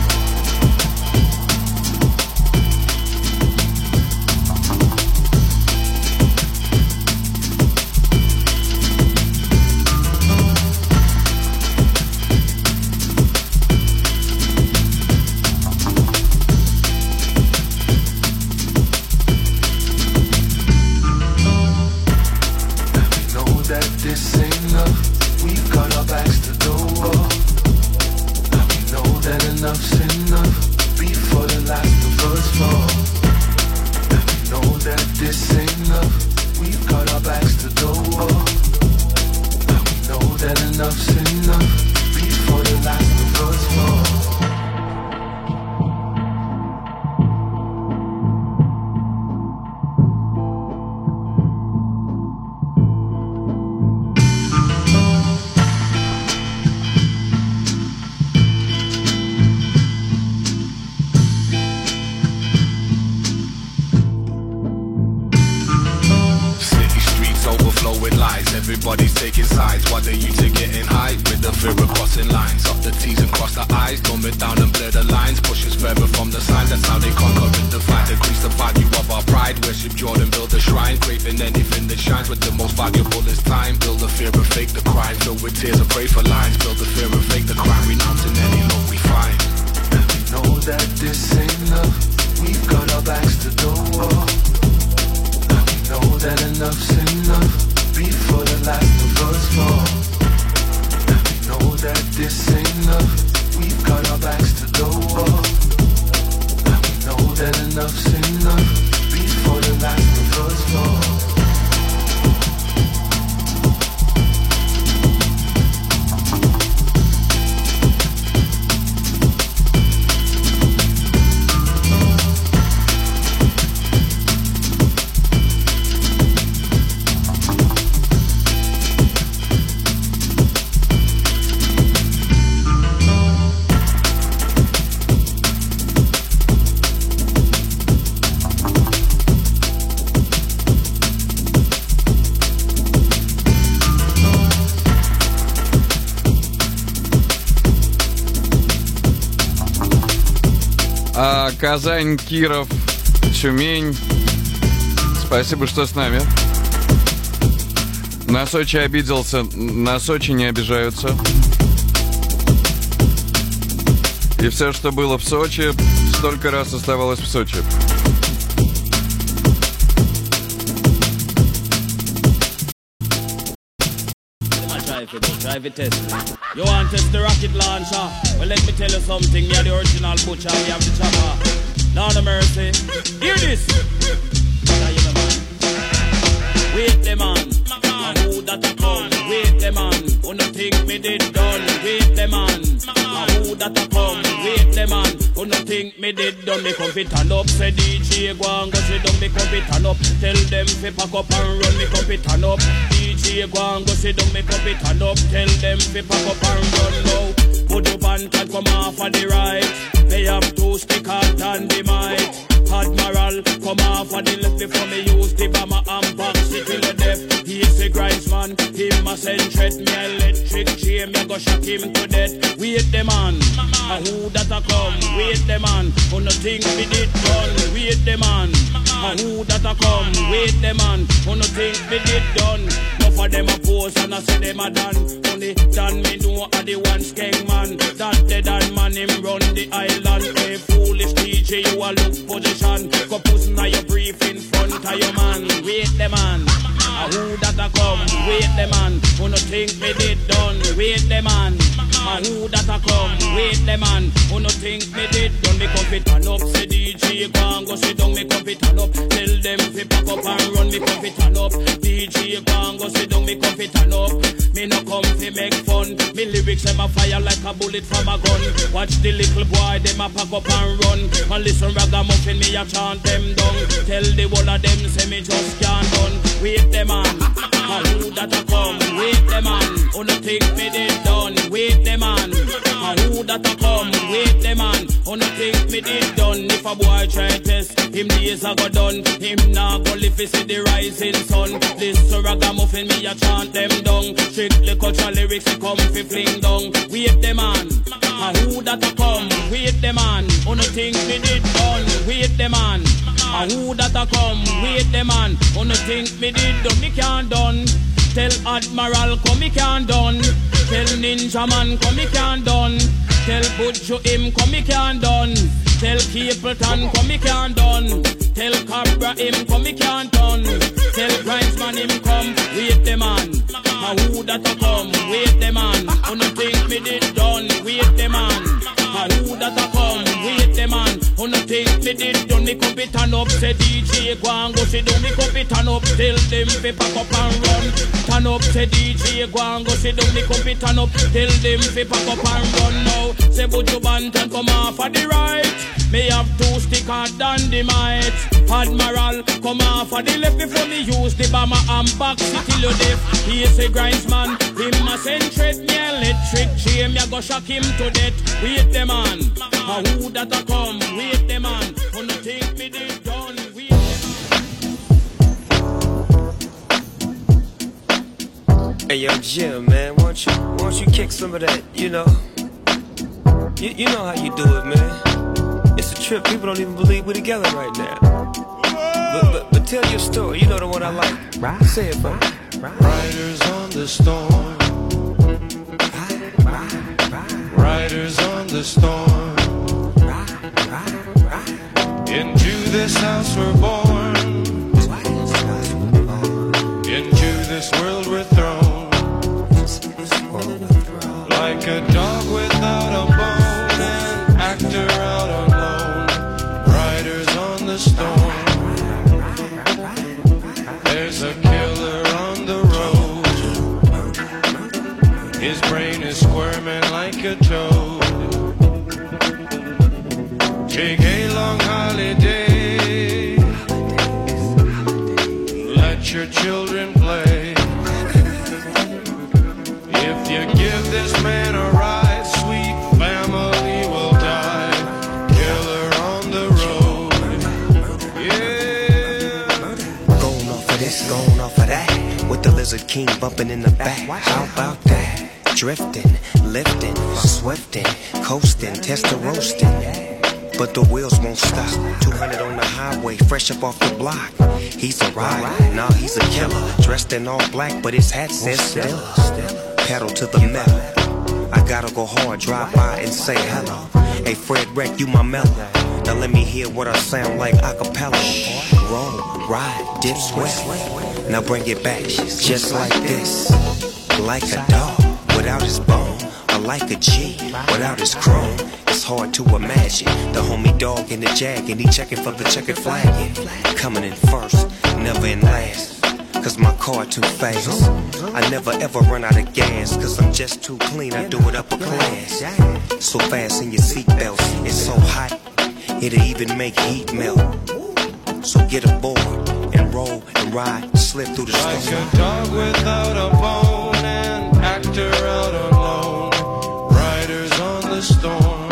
This ain't love, we've got our backs to the wall. And we know that enough's enough before the last of us fall. And we know that this ain't love, we've got our backs to the wall. And we know that enough's enough before the last of us fall. Everybody's taking sides. Why they you to getting high with the fear of crossing lines? Up the T's and cross the I's. Dumb it down and blur the lines. Push us further from the signs. That's how they conquer and divide. Decrease the value of our pride. Worship Jordan, build a shrine. Craving anything that shines. But the most valuable is time. Build the fear and fake the crime. Filled with tears and pray for lines. Build the fear and fake the crime. Renouncing any love we find. And we know that this ain't love. We've got our backs to the wall. And we know that enough's enough before the last of us fall. And we know that this ain't love. We've got our backs to the wall. And we know that enough's enough before the last of us fall. А, Казань, Киров, Тюмень. Спасибо, что с нами. На Сочи обиделся, на Сочи не обижаются. И все, что было в Сочи, столько раз оставалось в Сочи. fi go try fi test me. You want test the rocket launcher? Well, let me tell you something. Me are the original butcher. We have the chopper. Lord of mercy. Hear this. Now you know, man. Wait the man. And who that a come? Wait the man. Who no think me did done? Wait the man. And who that a come? Wait the man. Who no think me did done? Me come fi turn up. Say D J go and go sit down. Me come fi turn up. Tell them fi pack up and run. Me come fi turn up. D J go and go sit down. Me come fi turn up. Tell them fi pack up and run now. Put up and can come off of the right. They have two stick out and the mic. Admiral, come off of the left before me use the bomber and back city the deaf. He's a grinds man, him a send threat. Me electric chain, me go shock him to death. Wait the man, and who that a come? Wait the man, who no think me did done? Wait the man, and who that a come? Wait the man, who no think me did done? Enough of them a pose and I say them a done. Only done me know a the one skeng man. That dead and man him run the island. Hey foolish D J, you a look position. Go puss now your brief in front of your man. Wait the man, a who that a come? Wait the man, who no think me did done? Wait the man, a who that a come? Wait the man, who no think me did done? Me come fit turn up, say D J go and go sit down. Me come fit turn up, tell them fi pack up and run. Me come fit turn up, D J go and go sit down. Me come fit turn up, me no come fi make fun. Me lyrics them a fire like a bullet from a gun. Watch the little boy them a pack up and run. And listen ragamuffin me a chant them down. Tell the whole of them say me just can't done. Wait the man, and who that a come? Wait the man, who no think me did done? Wait the man, and who that a come? Wait the man, who no think me did done? If a boy try test, him days a go done. Him nah go live fi see the rising sun. This ragamuffin me a chant them down. Strictly culture lyrics he come fi fling down. Wait the man, and who that a come? Wait the man, who no think me did done? Wait the man, and who that a come? Wait the man, who no think me did done? Me can't done. Tell Admiral come me can't done. Tell Ninja Man come me can't done. Tell Butcho him come me can't done. Tell Capleton come me can't done. Tell Cabra him come me can't done. Tell Grindsman him come. Wait the man, and who that a come? Wait the man, who no think me did done? Wait the man, and who that a come? Wait the man, who no think me did done? Me come fi turn up, say D J go and go sit down. Me come fi turn up, tell them fi pack up and run. Turn up, say D J go and go sit down. Me come fi turn up, tell them fi pack up and run now. Say Buju Banton come off of the right. Me have two stick hard dynamite. Admiral come off of the left before me use the bomber and back city lo deaf. He is a grindsman, him a send threat. Me electric chain, me a go shock him to death. Wait the man, and who that a come? Wait the man, who no think me did done? Wait the man. Hey yo Jim, man, won't you, won't you kick some of that, you know? You, you know how you do it, man. It's a trip, people don't even believe we're together right now. But, but, but tell your story, you know the one I like. Right. Say it, bro. Riders on the storm. Riders on the storm. Into this house we're born. Into this world we're thrown. Like a dog without a bone, an actor out alone. Riders on the storm. There's a killer on the road. His brain is squirming like a toad. Take a long holiday. Let your children play. If you give this man a ride, sweet family will die. Killer on the road. Yeah. Going off of this, going off of that. With the Lizard King bumping in the back. How about that? Drifting, lifting, swifting, coasting, tester roasting. But the wheels won't stop. two hundred on the highway, fresh up off the block. He's a rider, nah, he's a killer. Dressed in all black, but his hat says Stella. Pedal to the metal. I gotta go hard, drive by and say hello. Hey Fred Wreck, you my mellow. Now let me hear what I sound like a cappella. Roll, ride, dip, sweat. Now bring it back, just like this. Like a dog. without his bone. Or like a G without his chrome. It's hard to imagine the homie dog in the jag and he checking for the checkered flag. Yeah. Coming in first, never in last. Cause my car too fast. I never ever run out of gas. Cause I'm just too clean, I do it upper class. So fast in your seatbelts, it's so hot, it'll even make heat melt. So get aboard and roll and ride, slip through the storm. Like a dog without a bone, an actor out alone, riders on the storm.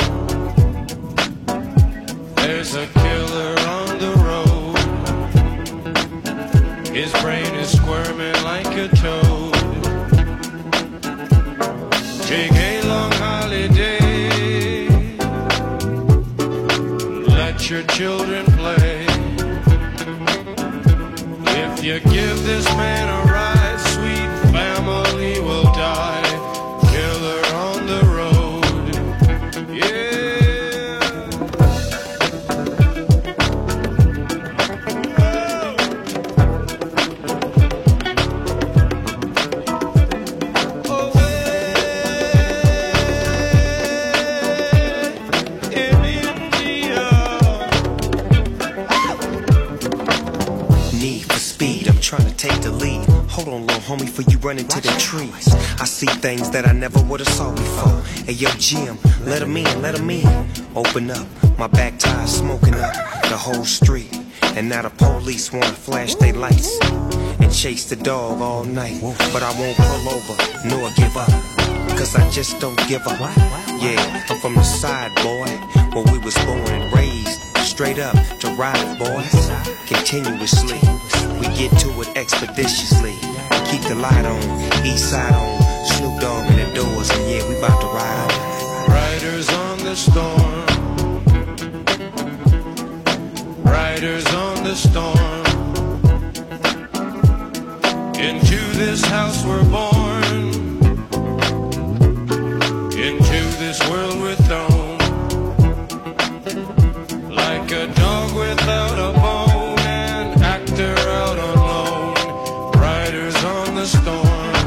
There's a killer on the road, his brain is squirming like a toad. Take a long holiday, let your children play. If you give this man a ride, sweet family will die. Killer on the road, yeah. Trying to take the lead. Hold on, little homie, before you run into the trees. I see things that I never would've saw before. Hey, yo, Jim, let him in, let him in. Open up, my back tire smoking up the whole street. And now the police wanna flash their lights and chase the dog all night. But I won't pull over, nor give up, cause I just don't give up. Yeah, I'm from the side, boy, where we was born and raised. Straight up to ride, boys, continuously. We get to it expeditiously. Keep the light on, east side on, Snoop Dogg in the doors, and yeah, we bout to ride on. Riders on the storm, riders on the storm. Into this house we're born, into this world we're thrown. Like a dog without a bone, an actor out alone, riders on the storm.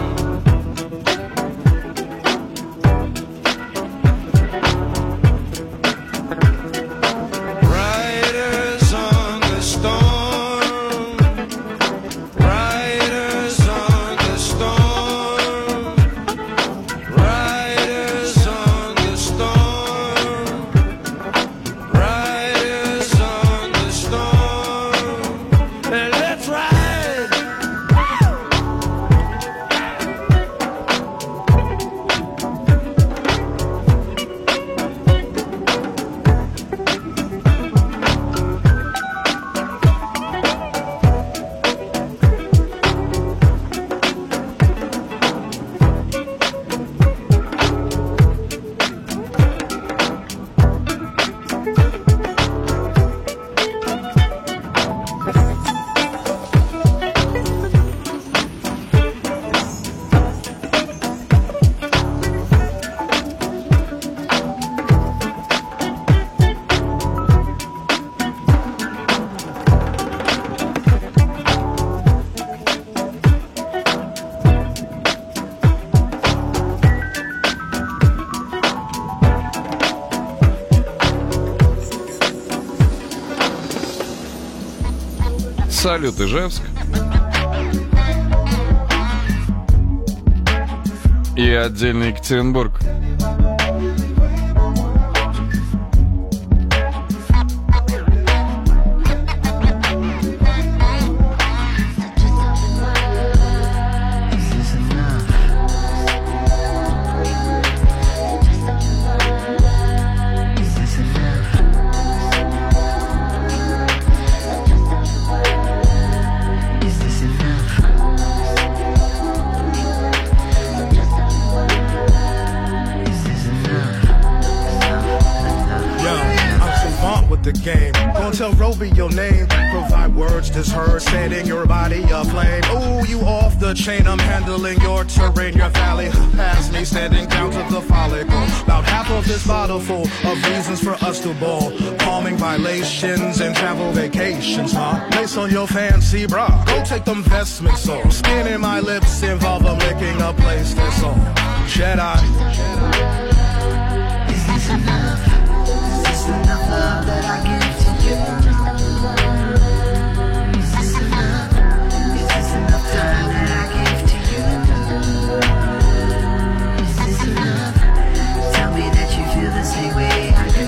Riders on the storm, riders on the storm, riders on the storm, riders on the storm. And let's ride. Салют, Ижевск. И отдельно Екатеринбург. The game. Gonna tell Roby your name. Provide words that's heard, setting your body aflame. Ooh, you off the chain. I'm handling your terrain, your valley. Past me, standing down to the follicle. About half of this bottle full of reasons for us to ball. Calming violations and travel vacations, huh? Lace on your fancy bra. Go take them vestments off. Skin in my lips involve a licking a place that's all. Jedi. Is this enough? Is this enough love that I give to you? Is this enough? Is this enough time that I give to you? Is this enough? Tell me that you feel the same way I do.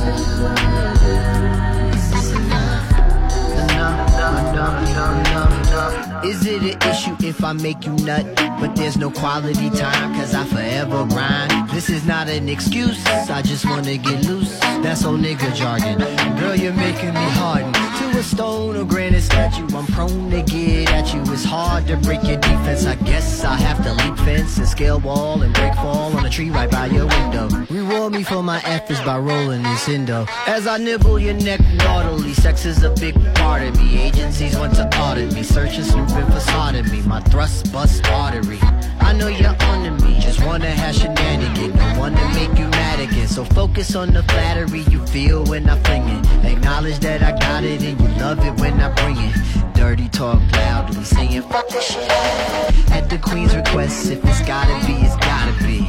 Is this enough? Enough, enough, enough, enough, enough, enough. Is it an issue if I make you nut? But there's no quality time, cause I forever grind. This is not an excuse, I just wanna get loose. That's old nigga jargon. Girl, you're making me harden to a stone or granite statue. I'm prone to get at you. It's hard to break your defense. I guess I have to leap fence and scale wall and break fall on a tree right by your window. Reward me for my efforts by rolling this endo. As I nibble your neck naughtily, sex is a big part of me. Agencies want to audit me, searching, snooping, facade me. My thrust bust artery. I know you're onto me, just wanna have shenanigans. No one to make you mad again. So focus on the flattery you feel when I fling it. Acknowledge that I got it and you love it when I bring it. Dirty talk loudly, saying fuck this shit. At the queen's request, if it's gotta be, it's gotta be.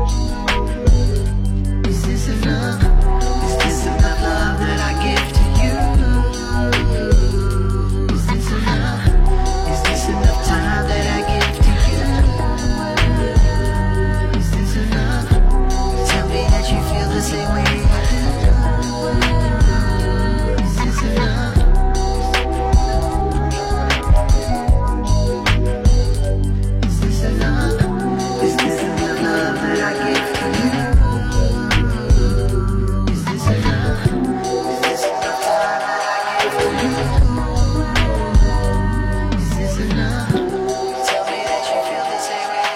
Is this enough? Is this enough love that I give to you? Is this enough? Is this enough time that I give to you? Is this enough? Tell me that you feel the same way I do. Is this enough? Is this enough? Is this enough love that I give to you? Is this enough? Is this enough time that I give to you? Is this enough? Tell me that you feel the same way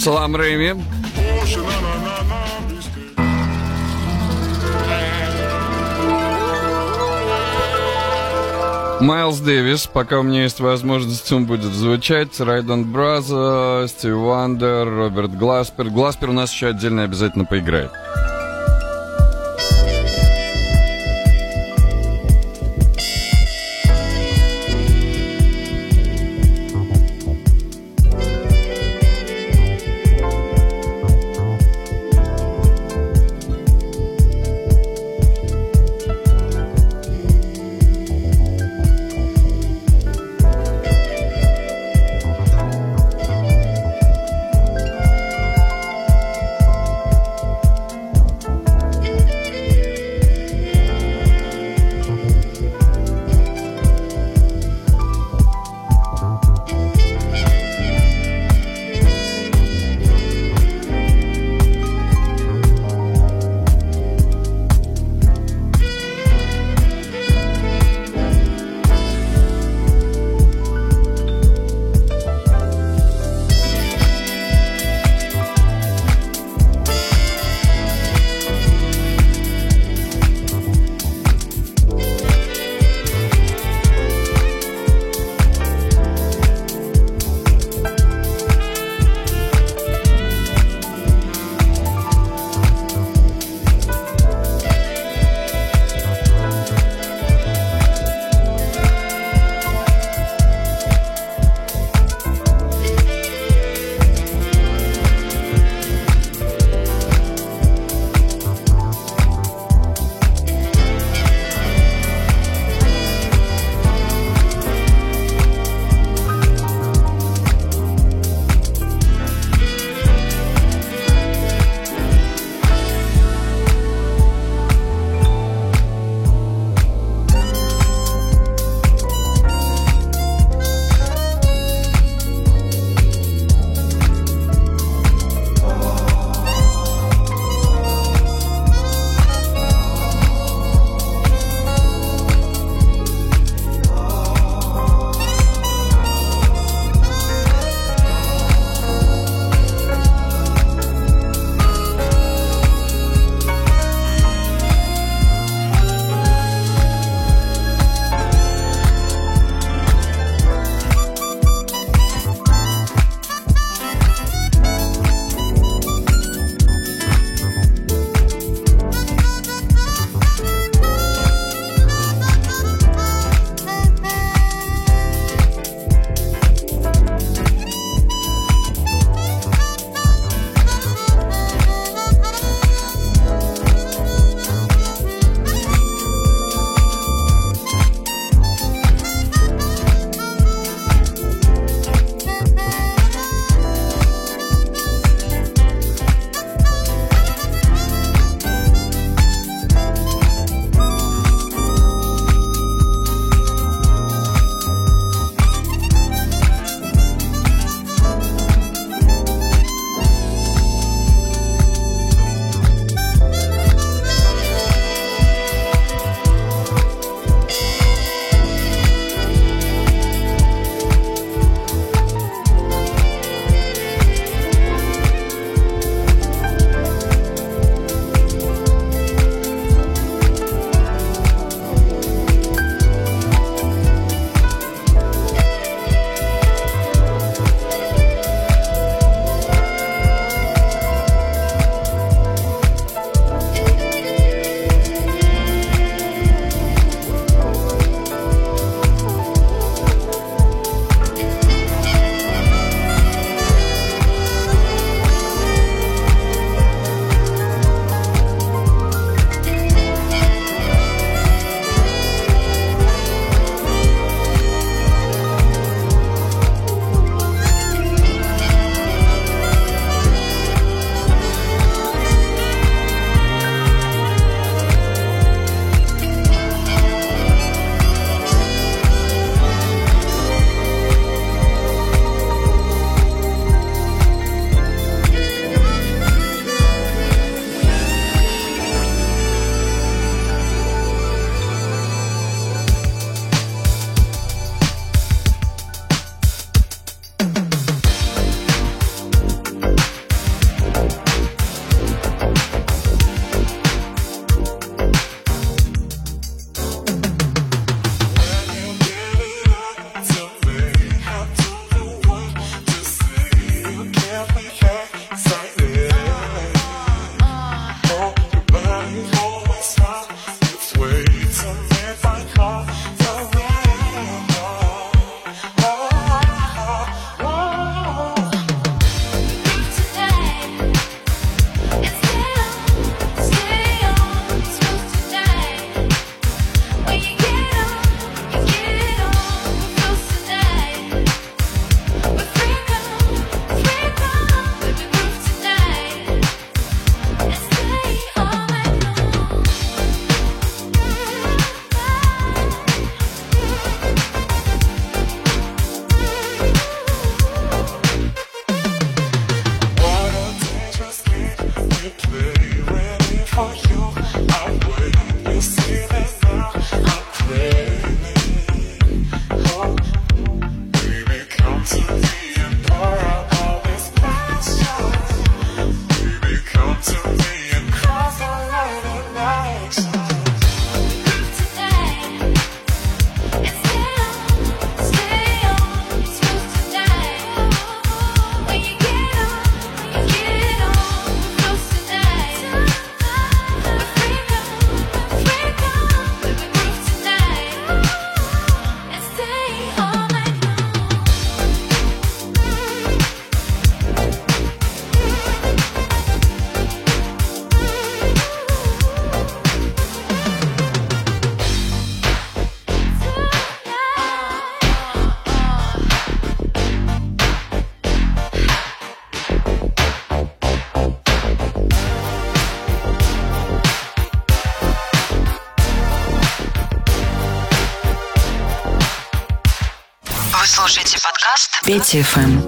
Салам Рэйми. Майлз Дэвис, пока у меня есть возможность, он будет звучать. Райдон Браза, Стиви Вандер, Роберт Гласпер. Гласпер у нас еще отдельно обязательно поиграет. подкаст Петя эф эм.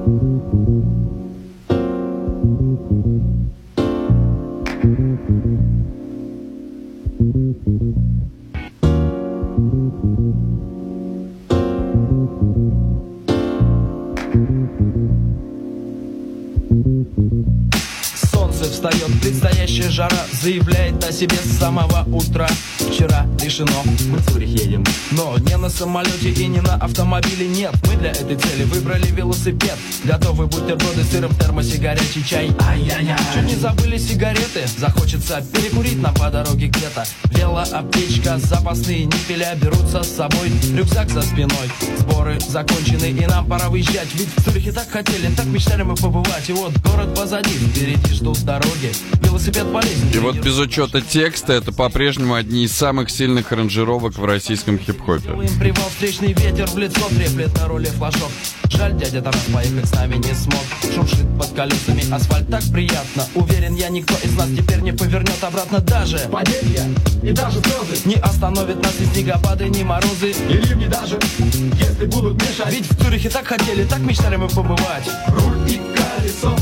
Солнце встает, предстоящая жара заявляет о себе с самого утра. Вчера решено, мы в Цюрих едем, но не на самолете и не на автомобиле, нет. Мы для этой цели выбрали велосипед. Готовы бутерброды с сыром в термосе, горячий чай. Ай-яй-яй. Чуть не забыли сигареты, захочется перекурить нам по дороге где-то. Велоаптечка, запасные ниппеля берутся с собой. Рюкзак за спиной, сборы закончены и нам пора выезжать. Ведь в Цюрихе так хотели, так мечтали мы побывать. И вот город позади, впереди ждут дороги. Велосипед полезен. И вот без учета текста это по-прежнему одни из самых сильных аранжировок в российском хип-хопе. Привал, встречный ветер в лицо треплет на руле флажок. Жаль, дядя Тарас поехать с нами не смог. Шуршит под колесами асфальт так приятно. Уверен я, никто из нас теперь не повернет обратно. Даже падения и даже слезы не остановит нас ни снегопады, ни морозы и ливни даже, если будут мешать. Ведь в Цюрихе так хотели, так мечтали мы побывать. Руль и колесо,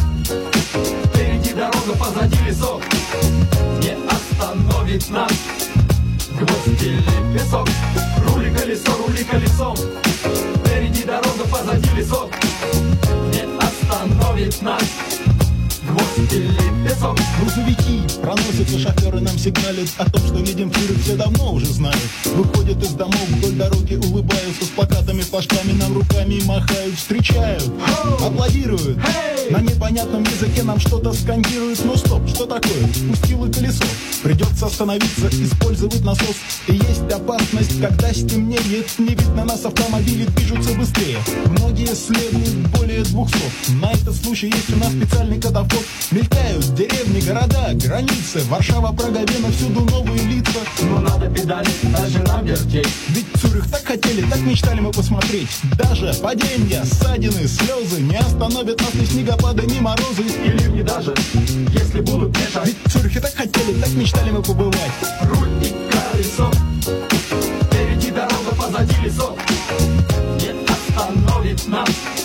впереди дорога, позади лесок. Не остановит нас гвоздь или песок. Рули колесо, рули колесо, впереди дорога, позади лесок. Не остановит нас гвоздь или песок. Грузовики проносятся, шоферы нам сигналят о том, что едем в Цюрих, все давно уже знают. Выходят из домов вдоль дороги, улыбаются с плакатами, флажками нам руками махают, встречают, аплодируют. На непонятном языке нам что-то скандируют. Ну стоп, что такое? Спустило колесо. Придется остановиться, использовать насос. И есть опасность, когда стемнеет. Не видно нас, автомобили движутся быстрее. Многие следуют более двухсот. На этот случай есть у нас специальный катафот. Мелькают деревни, города, границы. Варшава, Прага, Вена, всюду новые лица. Но надо педалить, даже нам вертеть. Ведь Цюрих так хотели, так мечтали мы посмотреть. Даже падения, ссадины, слезы не остановят нас ни снегопады, ни морозы и ливни даже, если будут мешать. Ведь в Цюрихе так хотели, так мечтали мы побывать. Руль и колесо, впереди дорога, позади лесок. Не остановит нас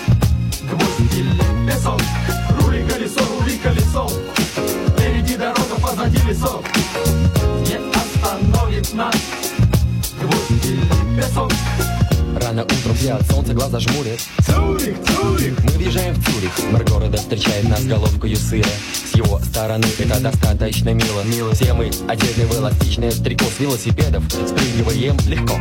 гвоздь или песок. Рули колесо, рули колесо, впереди дорога, позади лесок. Не остановит нас гвоздь или песок. Рано утром все от солнца глаза жмурят. Цюрих, Цюрих! Мы въезжаем в Цюрих. Мэр города встречает нас головкою сыра. С его стороны это достаточно мило. мило. Все мы одеты в эластичное трико с велосипедов. Спрыгиваем легко.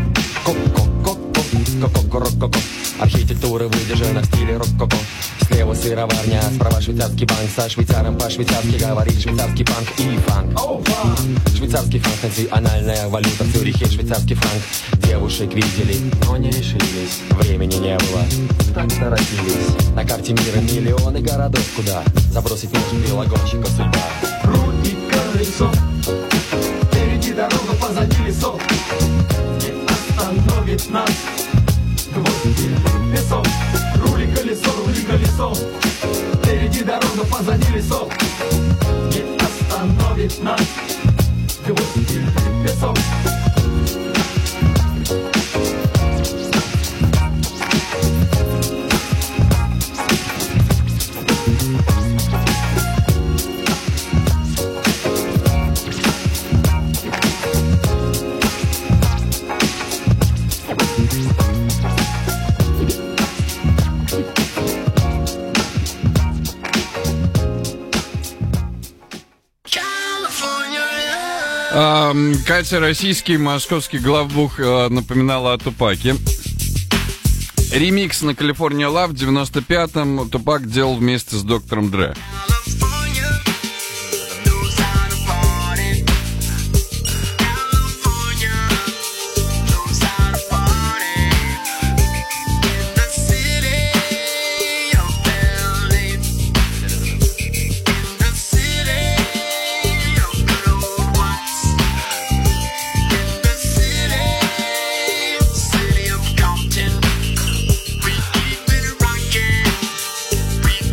Ко-ко-ко-ко-ко-ко-ко-ко. Архитектура выдержана в стиле рок-ко-ко. Слева сыроварня, справа швейцарский банк. Со швейцаром по-швейцарски говорит швейцарский панк и фанк. Oh, фанк. Швейцарский франк, национальная валюта в Цюрихе, швейцарский франк. Девушек видели, но не решились. Времени не было, так торопились. На карте мира миллионы городов, куда забросить может велогонщика судьба. Руль и колесо, впереди дорога, позади лесок. Не остановит нас гвоздь или песок. Рули колесо, рули колесо, впереди дорога, позади лесок. Не остановит нас гвоздь или песок. Катя, российский московский главбух, напоминала о Тупаке. Ремикс на California Love в девяносто пятом Тупак делал вместе с доктором Дре.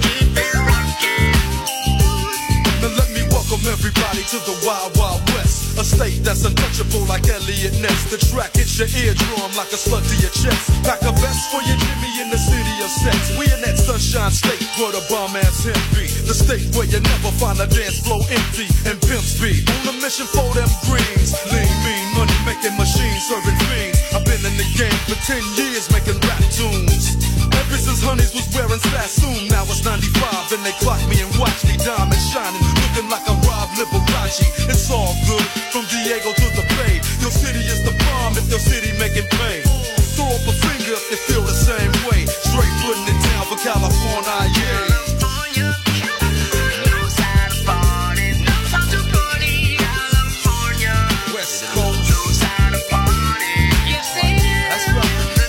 To the Wild Wild West, A state that's untouchable like Elliot Ness. The track hits your eardrum like a slug to your chest. Pack a vest for your Jimmy in the city of sex. We in that sunshine state where the bomb ass hemp be. The state where you never find a dance floor empty and pimp speed. On a mission for them greens. Lean, mean, money making machines serving fiends. I've been in the game for ten years making rap tunes. Ever since Honeys was wearing Sassoon. Now it's ninety-five and they clock me and watch me diamond shining. Looking like a Rob Liberace. It's all good from Diego to the Bay. Your city is the bomb if your city making pay. Throw up a finger if you feel the same way. Straight putting it down for California, yeah. West Coast. That's right.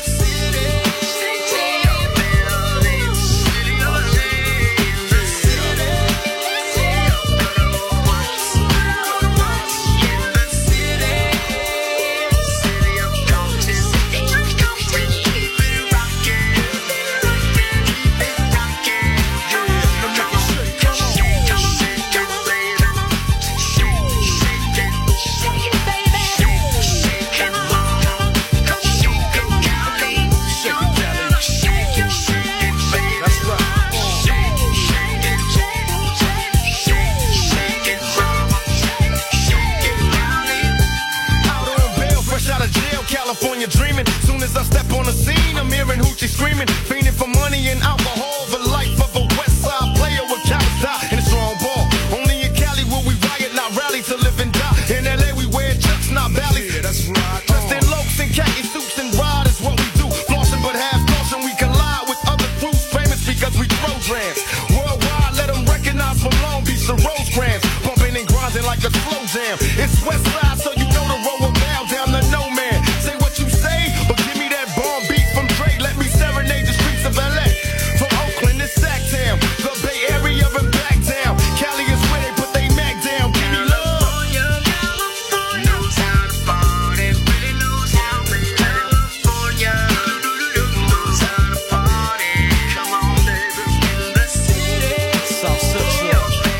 California dreaming. Soon as I step on the scene, I'm hearing hoochie screaming, fiending for money and alcohol. The life of a West Side player with Cali and a strong ball. Only in Cali will we riot, not rally to live and die. In L A we wear chucks, not valleys. Yeah, that's right. Dressed in locs and khaki suits and ride is what we do. Flossing but half caution, we collide with other crews famous because we throw drams. Worldwide, let them recognize from Long Beach to Rosecrans. Bumping and grinding like a slow jam. It's West Side, so you know the road will bow down to no man. Say what you say, but give me that bomb beat from Dre. Let me serenade the streets of L A. From Oakland to Sacktown, the Bay Area and back down. Cali is where they put they Mac down. Give me love. Knows how to party, really knows how to California. Knows how to party. Come on, baby, in the city. South Central.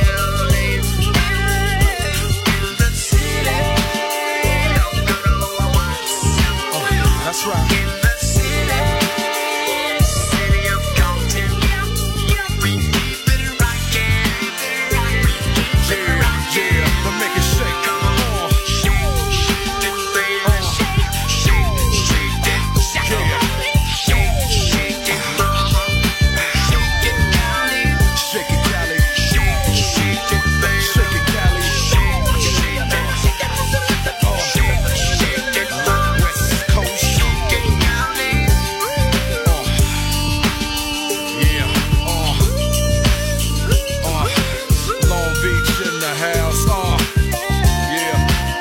That's right. In the city, city of Compton, we keep it rockin'. Yeah, yeah, but make it shake. Come on. Shake it, baby, shake, shake, shake it, shake it, shake, shake it, mama, shake it, Cali, Shake it, Cali. shake, shake it, baby, Shake it, Cali. shake, shake it, Oh, shake, shake it, mama, West Coast. shake it, Cali. Yeah, uh, uh, Long Beach in the house, uh, yeah,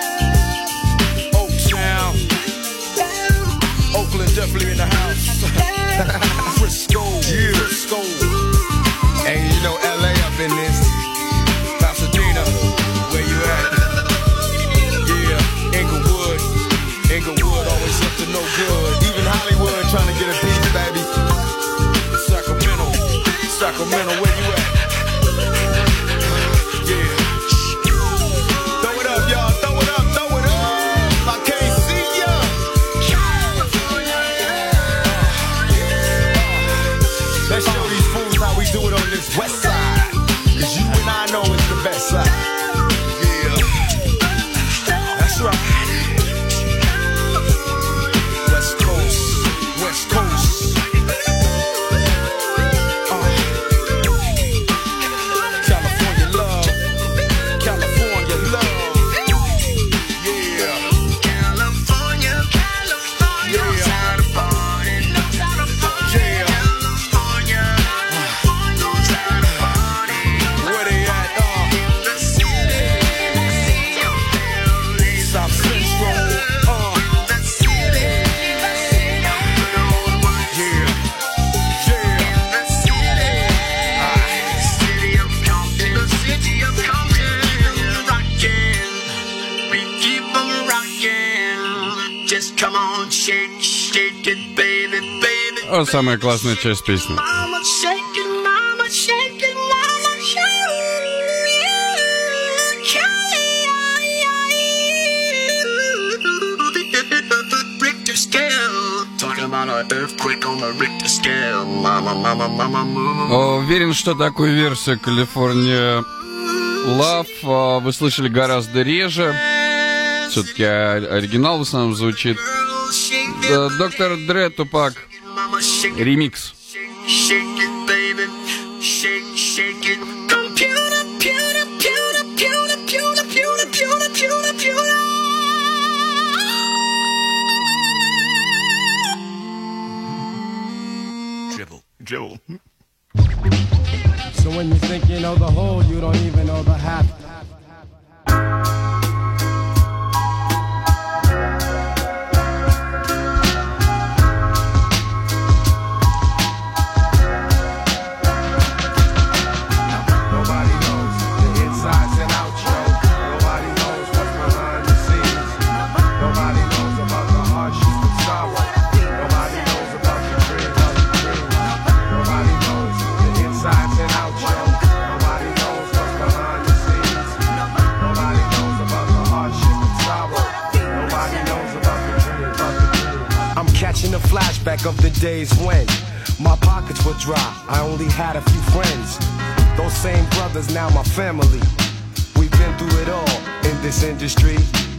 Oaktown, Oakland definitely in the house, Frisco, yeah, Frisco, And you know L A up in this. Pasadena, where you at? Yeah, Inglewood, Inglewood always up to no good. Even Hollywood trying to get a piece, baby. Sacramento, Sacramento, where you at? Yeah. Throw it up, y'all. Throw it up. Throw it up. I can't see ya. Let's show these fools how we do it on this West Side. Cause you and I know it's the best side. Yeah. That's right. West Coast, West Coast. Uh. California love, California love. Yeah. California, California, knows how to party, knows how to party. Yeah. California, knows how to party. Where they at? Uh. In the city, see your buildings. South Central. Uh. In the city, see your buildings. Yeah. Yeah. In the city, city of Compton, the city of Compton, rockin', we keep 'em rockin'. Just come on, shake, shake it, baby, baby. О, самая классная часть песни. Mama, shake it, mama, shake it, mama, shake it. Cali, about an earthquake on a Richter scale. Mama, mama, mama, move. Уверен, что такую версию California Love вы слышали гораздо реже. Все-таки оригинал в основном звучит. Доктор Дре, Тупак. Ремикс. Shake it, baby. Shake, shake it. Computer, pewter, pewter, pewter, pewter, pewter, pewter, pewter, pewter. Dribble, dribble. So when you think you know the whole, you don't even know the half. Catching a flashback of the days when my pockets were dry, I only had a few friends. Those same brothers, now my family. We've been through it all in this industry.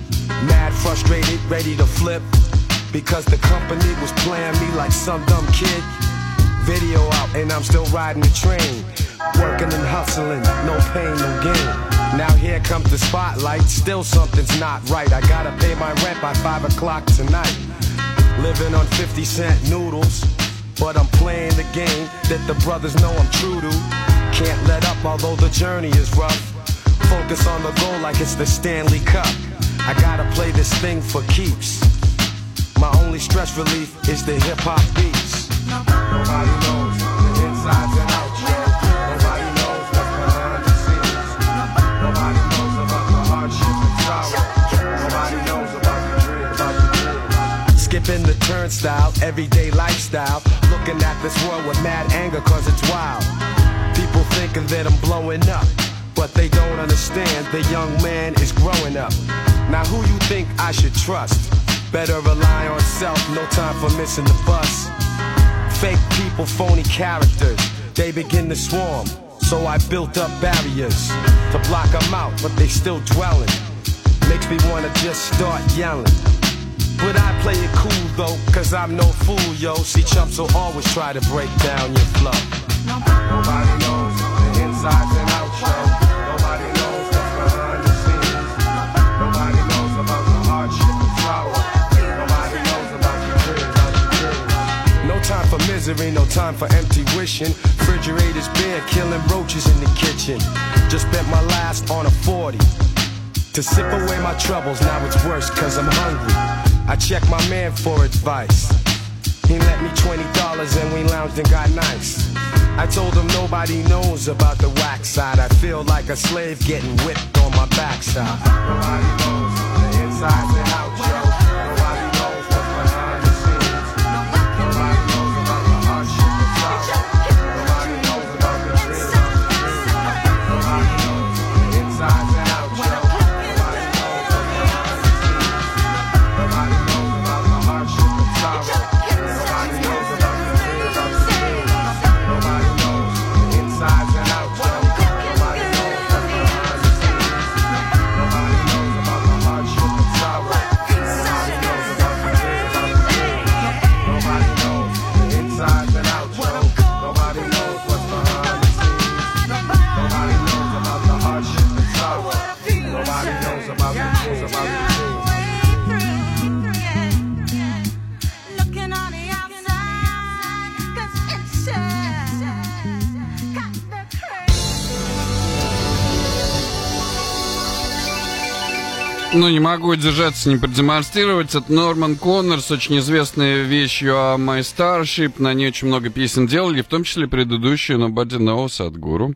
Mad, frustrated, ready to flip, because the company was playing me like some dumb kid. Video out and I'm still riding the train, working and hustling, no pain, no gain. Now here comes the spotlight, still something's not right. I gotta pay my rent by five o'clock tonight. Living on fifty cent noodles, but I'm playing the game that the brothers know I'm true to. Can't let up although the journey is rough. Focus on the goal like it's the Stanley Cup. I gotta play this thing for keeps. My only stress relief is the hip hop beats. Nobody knows the insides and outs. Nobody knows what's behind the scenes. Nobody knows about the hardship and sorrow. Nobody knows about the dream, about the dream. Skipping the turnstile, everyday lifestyle. Looking at this world with mad anger cause it's wild. People thinking that I'm blowing up, but they don't understand the young man is growing up. Now who you think I should trust? Better rely on self, no time for missing the bus. Fake people, phony characters, they begin to swarm. So I built up barriers to block them out, but they still dwelling. Makes me wanna just start yelling. But I play it cool though, cause I'm no fool, yo. See, chumps will always try to break down your flow. Nobody knows the insides and outs, yo. Nobody knows what's behind the scenes. Nobody knows about the hardship and sorrow. Nobody knows about your dreams, about your dreams. No time for misery, no time for empty wishing. Refrigerators bare, killing roaches in the kitchen. Just spent my last on a forty to sip away my troubles. Now it's worse cause I'm hungry. I checked my man for advice. He lent me twenty dollars and we lounged and got nice. I told him nobody knows about the whack side. I feel like a slave getting whipped on my backside. Nobody knows the insides and outs, yo. Nobody knows what's behind the scenes. Nobody knows about the hardship and sorrow. Nobody knows about the dreams. Nobody knows the insides and outs, yo. Nobody knows what's behind the scenes. Nobody knows about the hardship and sorrow. Nobody knows about the dreams, about the dreams. Nobody knows the insides and outs, yo. Nobody knows what's behind the scenes. Nobody knows about the hardship and sorrow. Nobody knows about the dreams, about the dreams. Nobody knows the insides and outs, yo. Nobody knows what's behind the scenes. Nobody knows about the hardship and sorrow. Nobody knows about the dreams, about the dreams. Looking on the outside, 'cause inside got the Ну, не могу удержаться, не продемонстрировать. Это Норман Коннор с очень известной вещью о My Starship. На ней очень много песен делали, в том числе предыдущую Nobody Knows от Гуру.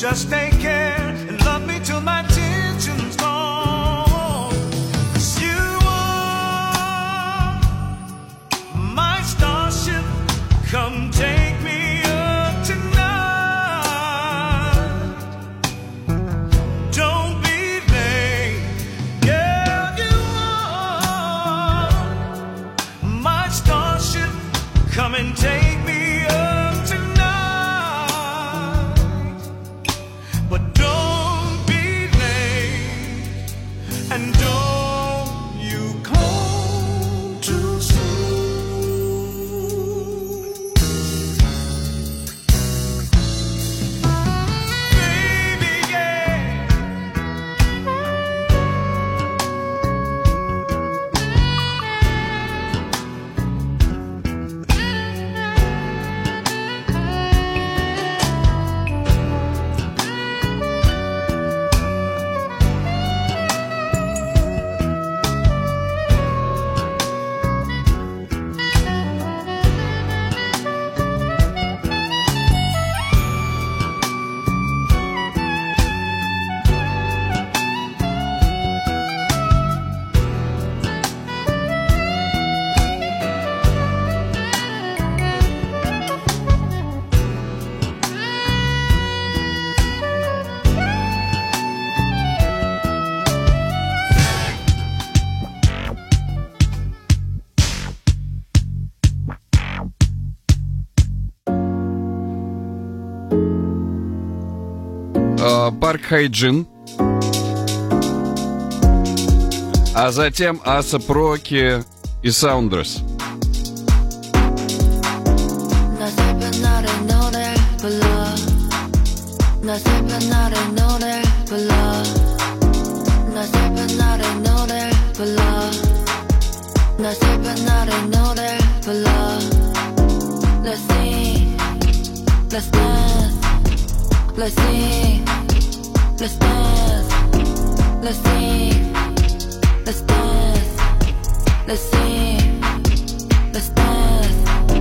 Just take care and love me till my tension's gone. 'Cause you are my starship. Come take me up tonight. Don't be late, girl. You are my starship. Come and take me up tonight. But don't be late, and don't you come too soon. Baby, yeah. Парк Хайджин. А затем Асап Роки и Саундрес. 나 슬픈 날에 노래 불러 나 슬픈 날에 노래 불러 나 슬픈 날에 노래 불러 나 슬픈 날에 노래 불러 Let's sing Let's dance Let's sing Let's dance Let's sing Let's dance Let's sing Let's dance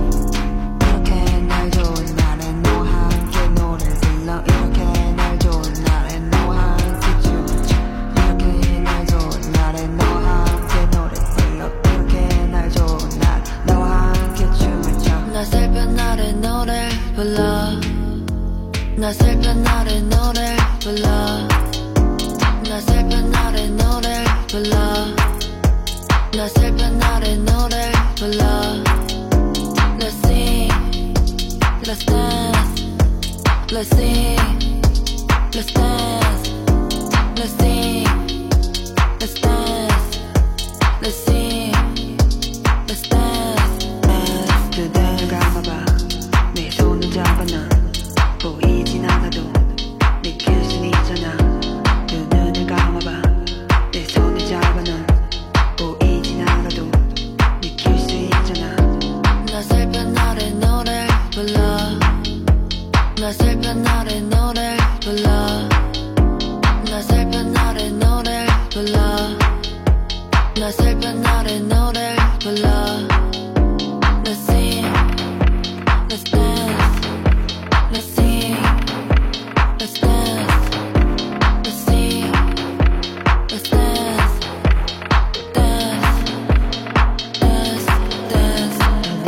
이렇게 날 좋은 날에 너와 함께 노래 불러 이렇게 날 좋은 날에 너와 함께 춤을 춰 이렇게 날 좋은 날에 너와 함께 노래 불러 이렇게 날 좋은 날 너와 함께 춤을 춰 나 슬픈 날에 노래 불러 나 슬픈 날에 노래 불러 나 슬픈 날에 노래 불러 나 슬픈 날에 노래 불러 Let's sing Let's dance Let's sing Let's dance Let's sing Let's dance Let's sing Let's dance 그대를 감아봐 내 손을 잡아 넌 보이진 않아도 느낄 순 있잖아 두 눈을 감아봐 내 손을 잡아 넌 보이진 않아도 느낄 수 있잖아 나 슬픈 날에 노래 불러 나 슬픈 날에 노래 불러 나 슬픈 날에 노래 불러 나 슬픈 날에 노래 불러 Let's sing Let's dance Let's sing Let's dance Let's sing Let's dance Dance Dance Dance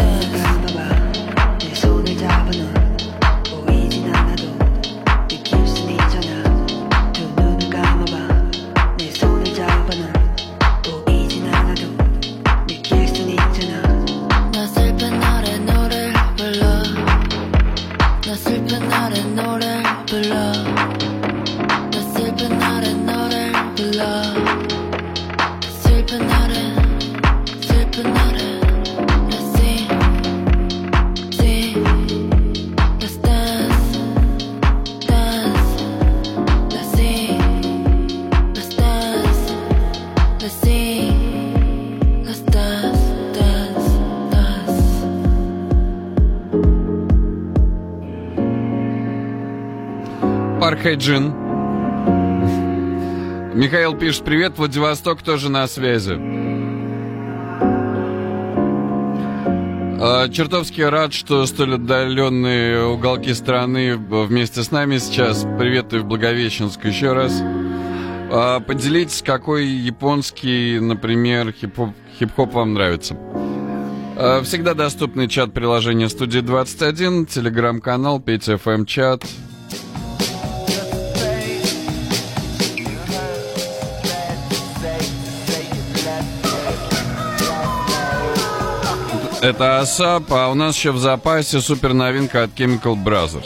감아봐 내 손을 잡아 넌 보이진 않아도 느낄 순 있잖아 두 눈을 감아봐 내 손을 잡아 넌 보이진 않아도 느낄 순 있잖아 나 슬픈 날에 노래 불러 나 슬픈 날에 노래 불러 나 슬픈 날에 노래 불러 슬픈 날에 슬픈 날에 Let's sing Sing Let's dance Dance Let's sing Let's dance Let's sing Let's dance Dance Dance Парк Хайджин. Михаил пишет: привет, Владивосток тоже на связи. А, чертовски рад, что столь отдаленные уголки страны вместе с нами сейчас. Приветую в Благовещенск еще раз. А, поделитесь, какой японский, например, хип-хоп, хип-хоп вам нравится. А, всегда доступный чат приложения Студия двадцать один, телеграм-канал, Петя эф эм чат. Это Асап, а у нас еще в запасе супер новинка от Chemical Brothers.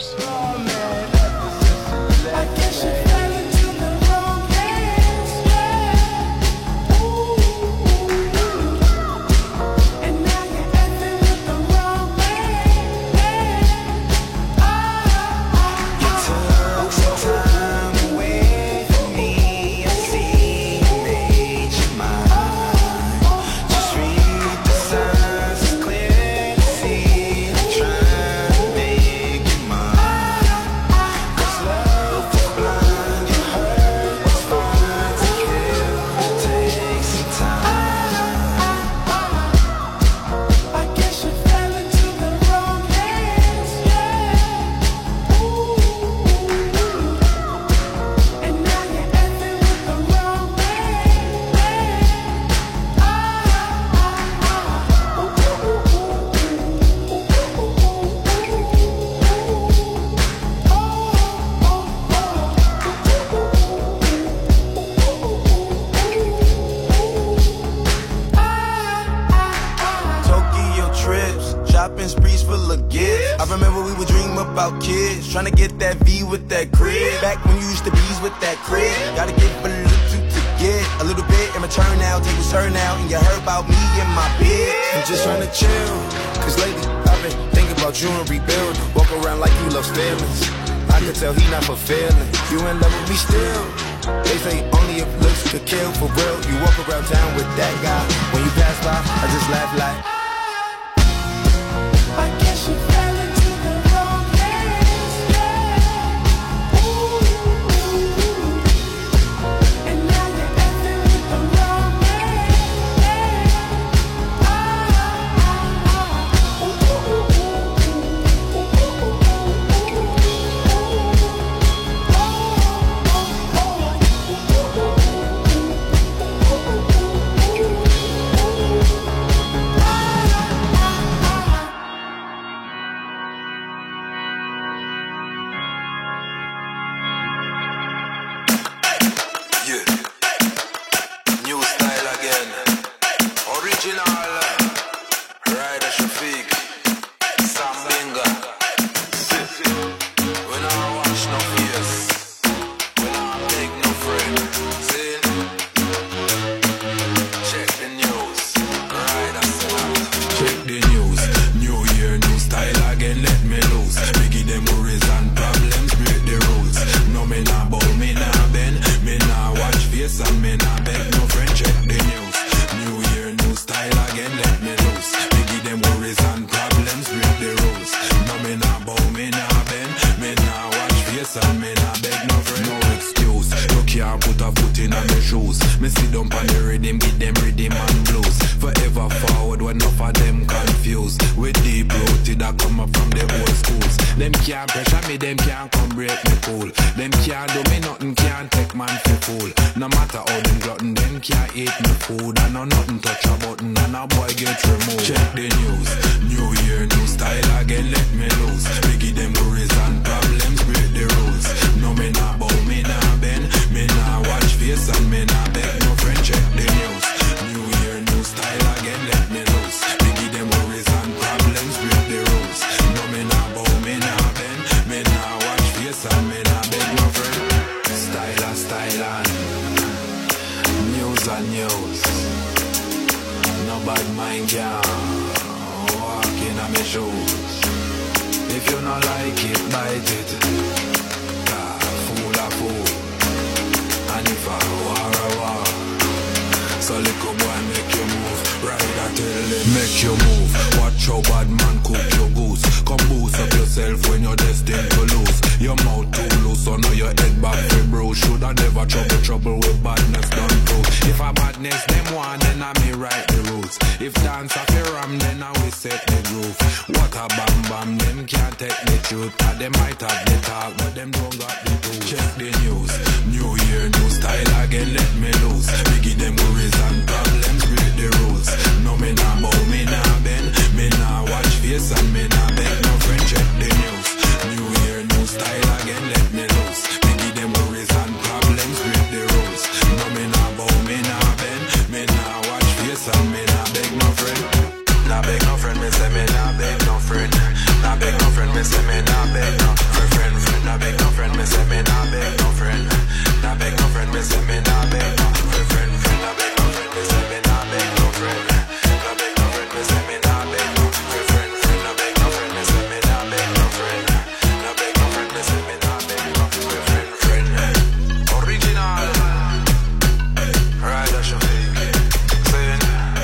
If dance off your ram, then I will set the roof. What a bam bam, them can't take the truth. Or them might have the talk, but them don't got the tools. Check the news, new year, new style again, let me loose. We give them worries and problems, break the rules. No me nah bow, me nah bend, me nah watch face and me nah beg no friend. Check the news, new year, new style again, let me loose. We give them worries and problems, break the rules. No me nah bow, me nah bend, me nah watch face and me nah beg no friend. Nah beg no friend, me say me nah beg no friend. Nah beg no friend, me say me nah beg no friend, friend, friend. Nah beg no friend, me say me nah beg no friend. Nah beg no friend, me say me nah beg no friend, friend, friend. Nah beg no friend, me say me nah beg no friend. Nah beg no friend, me say me nah beg no friend, friend, friend. Nah beg no friend, me say me nah beg no friend. Nah beg no friend, me say me nah beg no friend, friend, friend. Original, right? That's your fake. Saying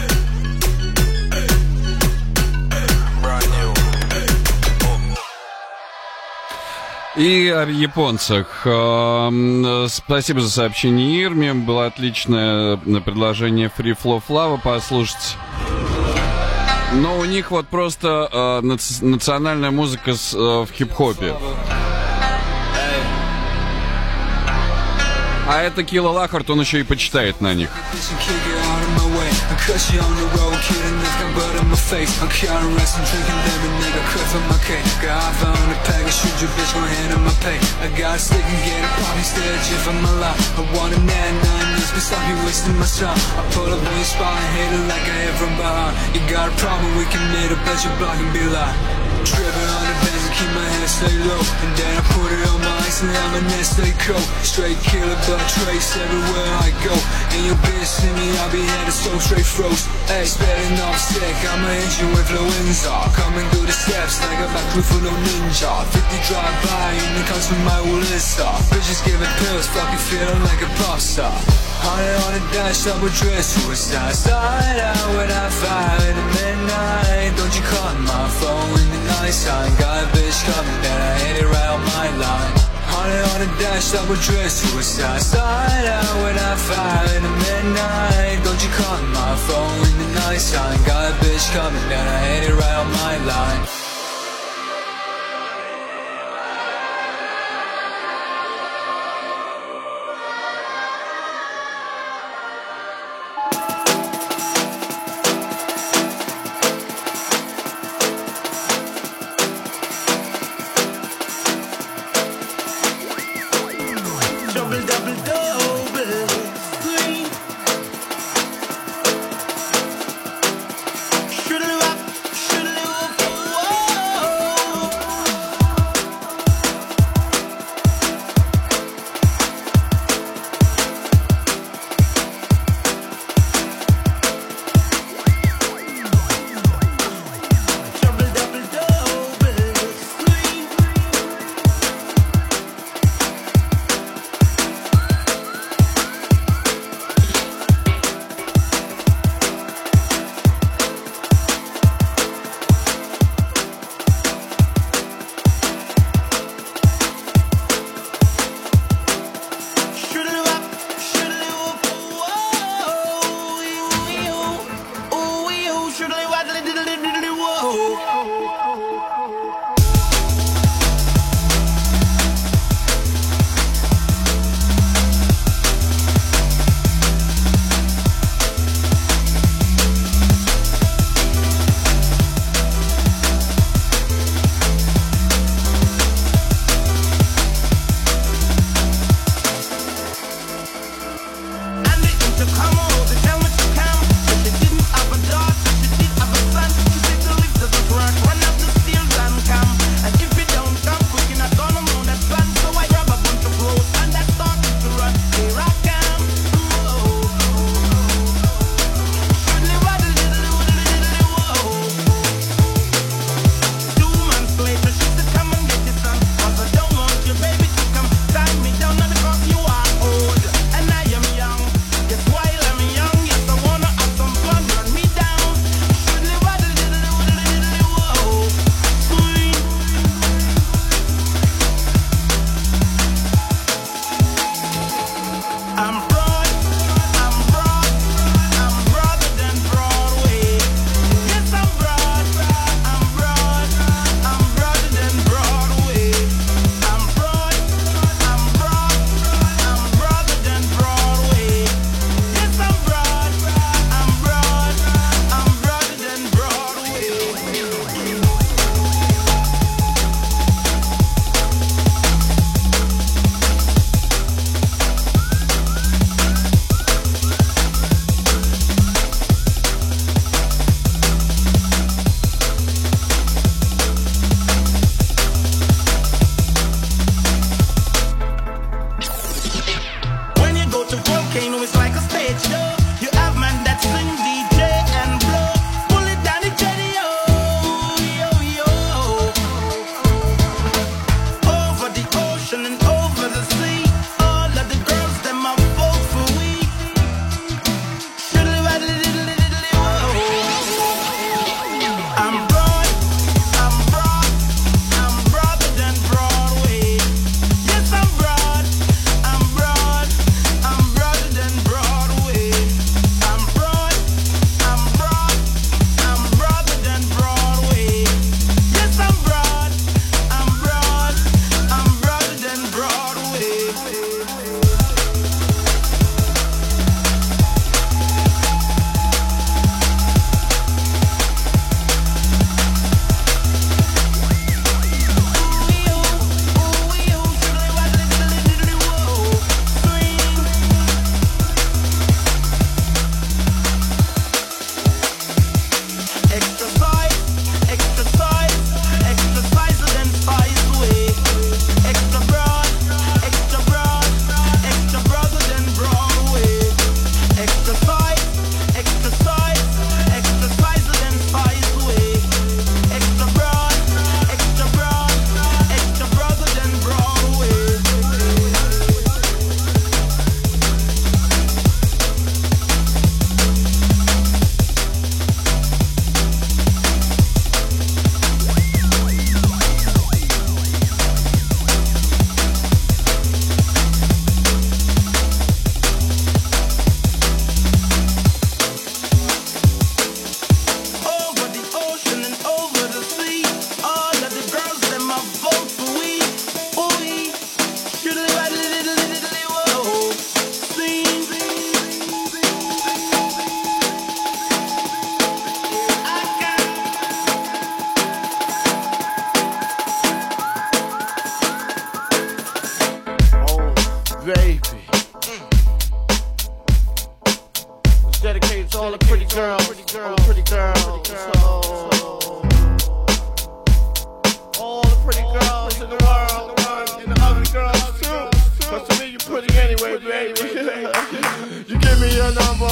brand new. И о японцах. Эм, Спасибо за сообщение Ирме. Было отличное предложение Free Flow Flava послушать. Но у них вот просто э, нац- национальная музыка с, э, в хип-хопе. А это Килла Лахарт, он еще и почитает на них. Cause she on the road, kidding, this got blood in my face. I'm counting rest and drinking lemonade, got cut from my cake. Got half on the pack, shoot your bitch, gon' hand in my pay. I got a stick and get it, probably still a for my life. I want a nine nine years, but stop you wasting my time. I pull up on your spot and hit it like I hit from behind. You got a problem, we can meet up at your block and be like tripping on the bench and keep my head stay low. And then I put it on my ice and let my neck stay cold. Straight killer, but trace everywhere I go. And your bitch see me, I'll be headed so straight froze. Hey, spitting off sick, I'ma hit you with influenza. Coming through the steps like a back crew full of ninja. fifty drive by and it comes from my Woollista. Bitches giving pills, fucking feeling like a pop star. Hundred on the dash, double dress, suicide. Side out when I fight in the midnight. Don't you call my phone in the night time. Got a bitch coming, then I hit it right on my line. Hundred on the dash, double dress, suicide. Side out when I fight in the midnight. Don't you call my phone in the night time. Got a bitch coming, then I hit it right on my line. Should've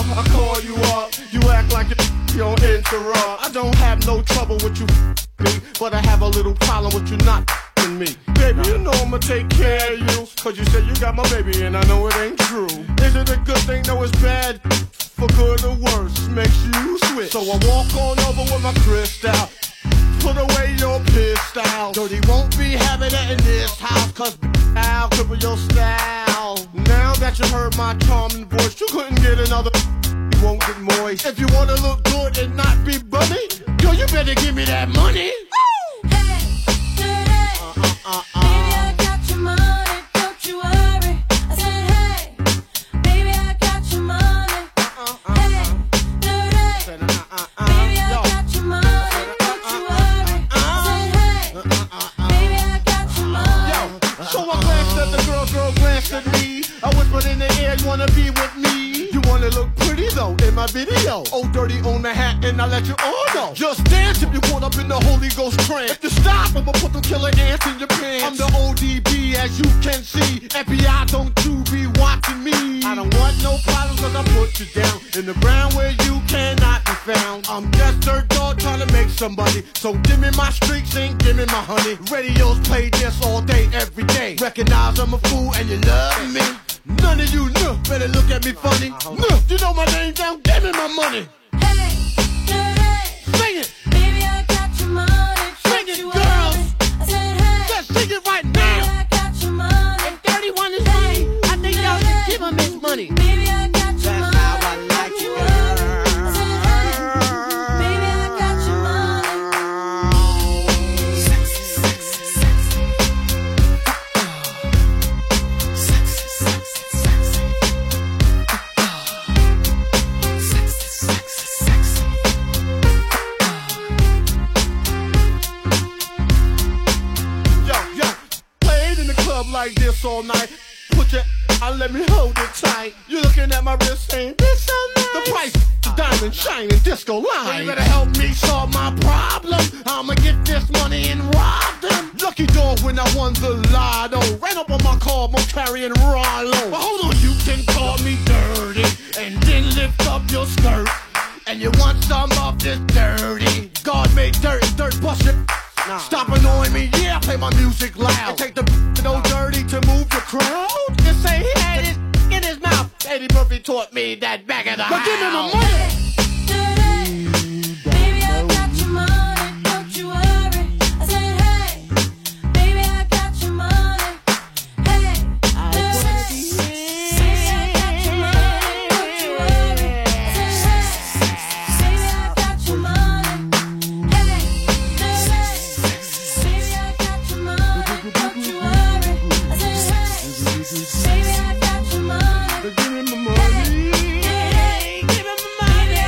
I call you up, you act like you don't interrupt. I don't have no trouble with you, me, but I have a little problem with you not me. Baby, you know I'ma take care of you, cause you said you got my baby and I know it ain't true. Is it a good thing? No, it's bad. For good or worse, makes you switch. So I walk on over with my crystal, put away your pistol. Dirty won't be having it in this house, cause I'll cripple your style. Now that you heard my charming voice, you couldn't get another. You won't get moist. If you wanna look good and not be bummy, yo, you better give me that money. Uh, uh. Baby, I got your money, don't you worry. I said, hey, baby, I got your money. Hey, dirty. Baby, I got your money, don't you worry. I said, hey, baby, I got your money. Yo, so I glanced at the girl, girl glanced at me. I whispered in the air, you wanna be with me? You wanna look pretty though in my video. Oh, dirty on the hat, and I let you all know. Just dance if you caught up in the Holy Ghost trance. If you stop, I'ma put them killer ants in your pants. I'm the O D B, as you can see. F B I, don't you be watching me. I don't want no problems, cause I put you down in the ground where you cannot be found. I'm just dirt dog trying to make somebody. So give me my streaks and give me my honey. Radios play this all day, every day. Recognize I'm a fool and you love me. None of you know, better look at me funny. No, you know my name down, give me my money. Hey, dirty. Sing it. Baby, I got your money, Sing don't it, you girls. worry. I said, hey, Just sing it right baby, now. I got your money. If thirty-one is money, I think y'all should give him his money. Baby, I got your That's money, how I like don't you it, worry. I said, hey, baby, I got your money. Sexy, sexy, sexy. Sexy, sexy, sexy. Sexy, sexy, sexy. Yo, yo, played in the club like this all night. Put your, I let me hold it tight. You looking at my wrist saying, this so nice. The price, the diamond shining disco line. So you better help me solve my problem. I'ma get this money and rob them. Lucky dog when I won the lotto. Ran up on my car, I'm carrying Rollo. But hold on, you can call me dirty and then lift up your skirt. And you want some of this dirty. God made dirt and dirt bust it. Nah. Stop annoying me, yeah, play my music loud. And take the no dirty to move the crowd. Just say he had it in his mouth. Eddie Murphy taught me that back of the house. But give me my money. Baby, I got your money, don't you worry. I said, hey, baby, I got your money. Hey, dirty. Baby, I got your money, don't you worry. I said, hey, baby, I got your money. Hey, dirty. Baby, I got your money, don't you worry. I said, hey, baby, I got your money. Give me my money. Hey, give me my money.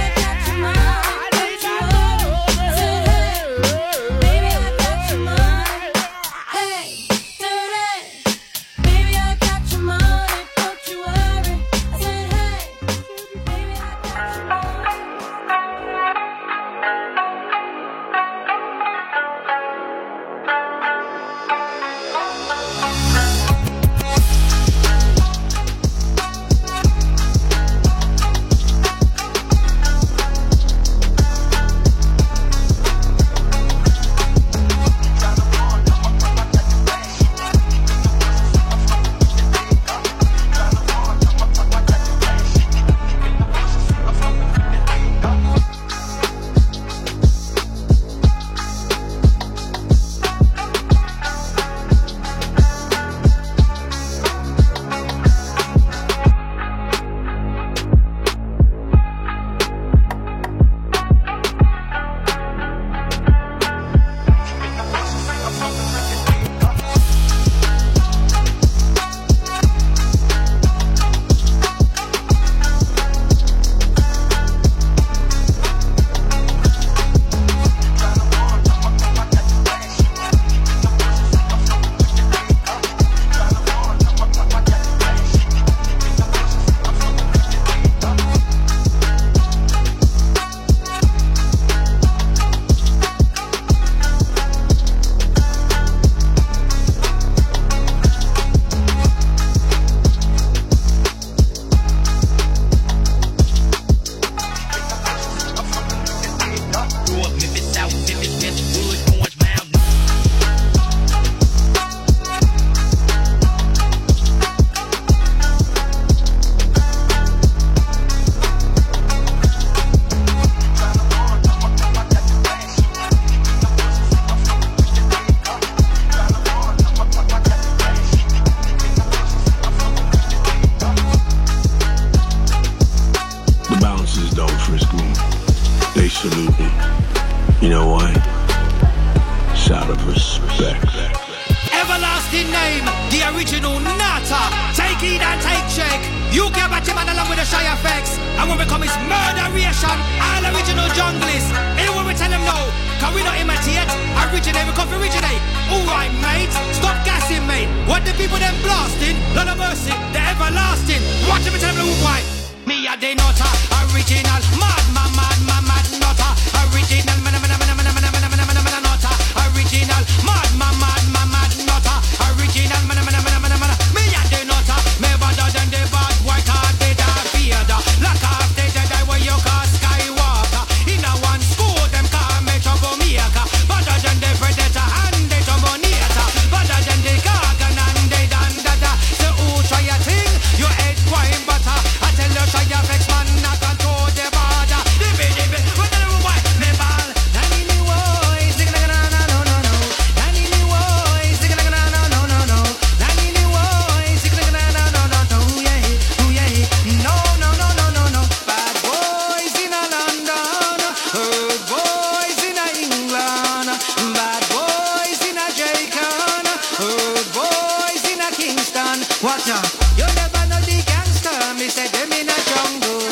Respect. Everlasting name, the original Nata. Take heed and take check. You can batch him along with the shy effects. And when we come it's murderation, all original junglists. Anyone we tell them no, cause we not imitate. Originate, we come to originate. Alright mate, stop gassing mate. What the people them blasting, Lord of mercy, the everlasting. Watch them and tell them the why. Me a the Nata, original. Mad, mad, mad, mad, mad, Nata. Original, man, man, man, man, man, man, man, man, man, man, Nata. Original, mad, mad, mad, mad, mad, Nata. Original, man, man, man, man, man, man. Me a the Nata. Me better than the bad boy, cause they die feared. Lock off the Jedi where you call Skywalker. In a one school, them call me troublemaker. Better than the Predator and the Terminator. Better than the Gargan and the Dandada. So who try a thing? You head wine butter. I tell you try a vex man, not control the border. Dibby dibby, what the hell why? Me ball. Nanny me boy, sing like na na no no no. Nanny me boy, sing like na na no no no. Nanny me boy, sing like na na no no no. Yeah, oh yeah, no no no no no no. Bad boys in a London, good boys in a England, bad boys in a Jamaica, good boys in a Kingston. What up? You never know the gangster, me say them in a jungle.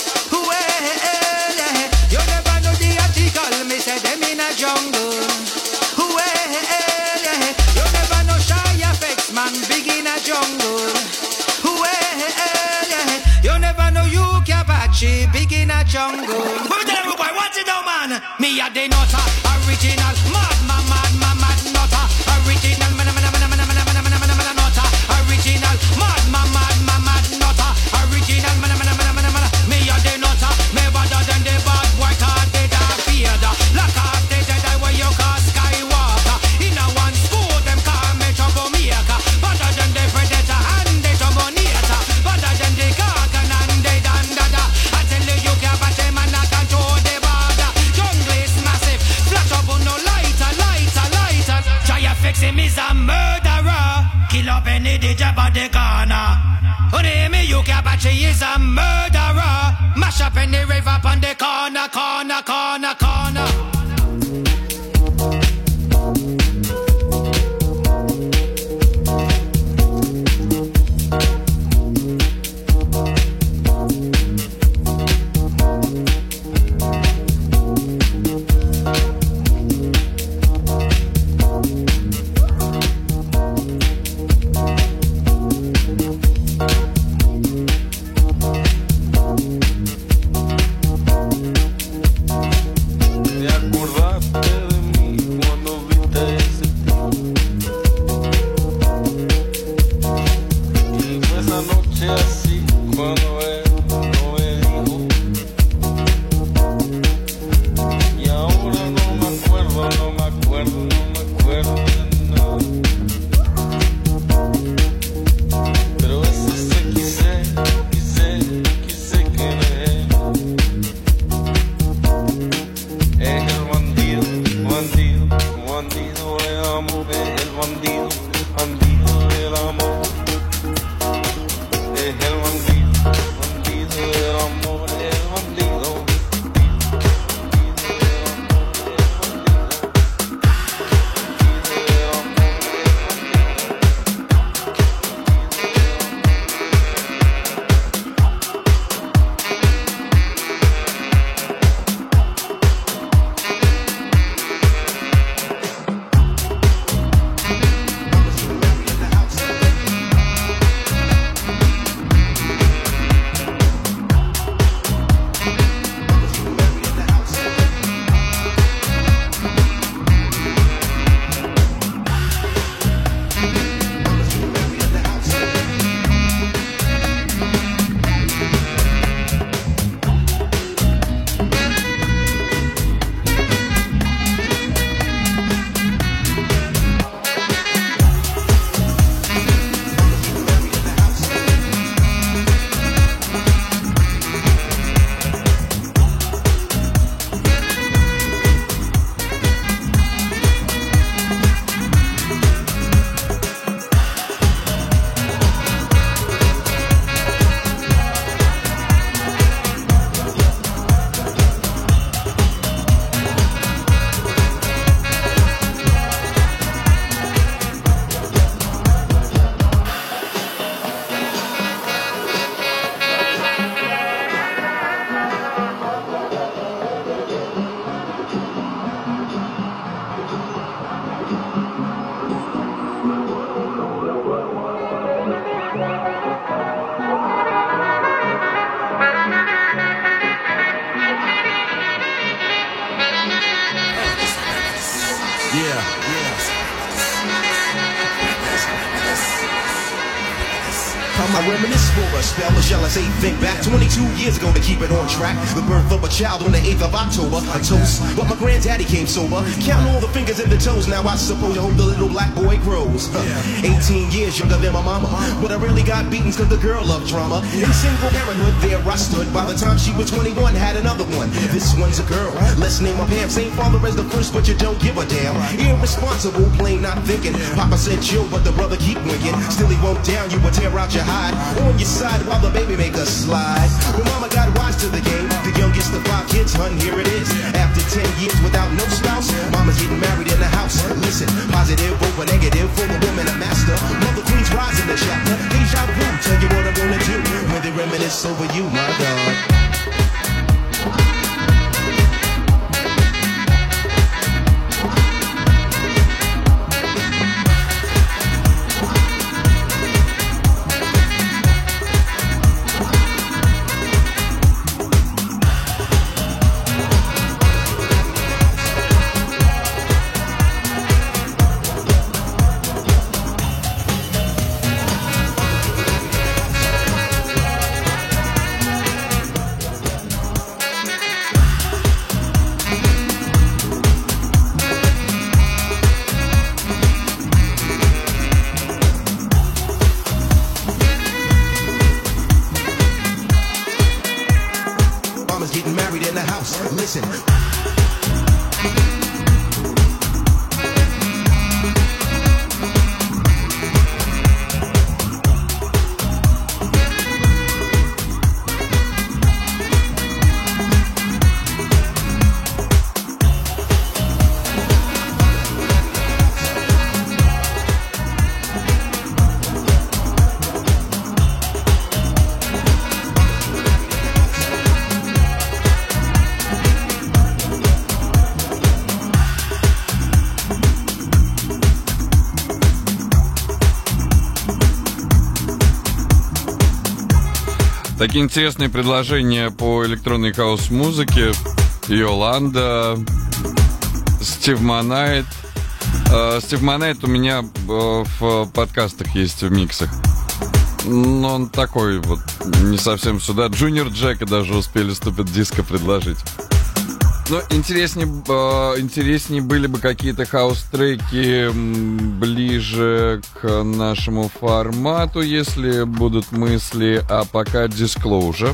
Well, yeah. You never know the article, me say them in a jungle. Well, yeah. You never know shy effects, man, big in a jungle. Well, yeah. You never know you Kabachi, big in a jungle. What tell everybody, what's it now, man? Me a the Nata, original, mad, mad, mad, mad, mad, Nata. Original, man, man, man, man, man, man, man, man, man, man, Nata. Original, mad, mad, mad, mad, mad, Nata. Original, man, man, man, man, man, man. Me a the Nata, me better than the bad boy, cause they die feared. Lock off the Jedi where you call Skywalker. In a one school, them call me troublemaker. Better than the Predator and the Terminator. Better than the Gargan and the Dandada. I tell you, you can't batch him and not control the border. Jungle is massive, flash up on no lighter, lighter, lighter. Try to fix him, is a murderer. Kill up any DJ by the corner. Only me, you can't batch he is a murderer. Mash up any rave up on the corner, corner, corner, corner. I reminisce for a spell, or shall I say think back twenty-two years ago to keep it on track. The birth of a child on the eighth of October, a toast. But my granddaddy came sober, count all the fingers and the toes. Now I suppose I hope the little black boy grows. Huh. eighteen years younger than my mama, but I really got beaten cause the girl loved drama. In single parenthood there I stood. By the time she was twenty-one, had another one. This one's a girl, let's name her Pam. Same father as the first, but you don't give a damn. Irresponsible, plain not thinking. Papa said chill, but the brother keep winking. Still he won't down, you would tear out your hide on your side while the baby make a slide. When mama got wise to the game, the youngest of five kids, hun, here it is. After ten years without no spouse, mama's getting married in the house. Listen, positive over negative, for the woman a master. Mother queen's rising the chapter. Deja vu, tell you what I'm gonna do when they reminisce over you, my God. Getting married in the house. Listen. Такие интересные предложения по электронной хаус-музыке. Йоланда, Стив Монайт. Стив Монайт у меня в подкастах есть, в миксах. Но он такой вот, не совсем сюда. Джуниор Джека даже успели Stupid Disco предложить. Но интереснее, интереснее были бы какие-то хаус-треки ближе к нашему формату, если будут мысли, а пока Disclosure.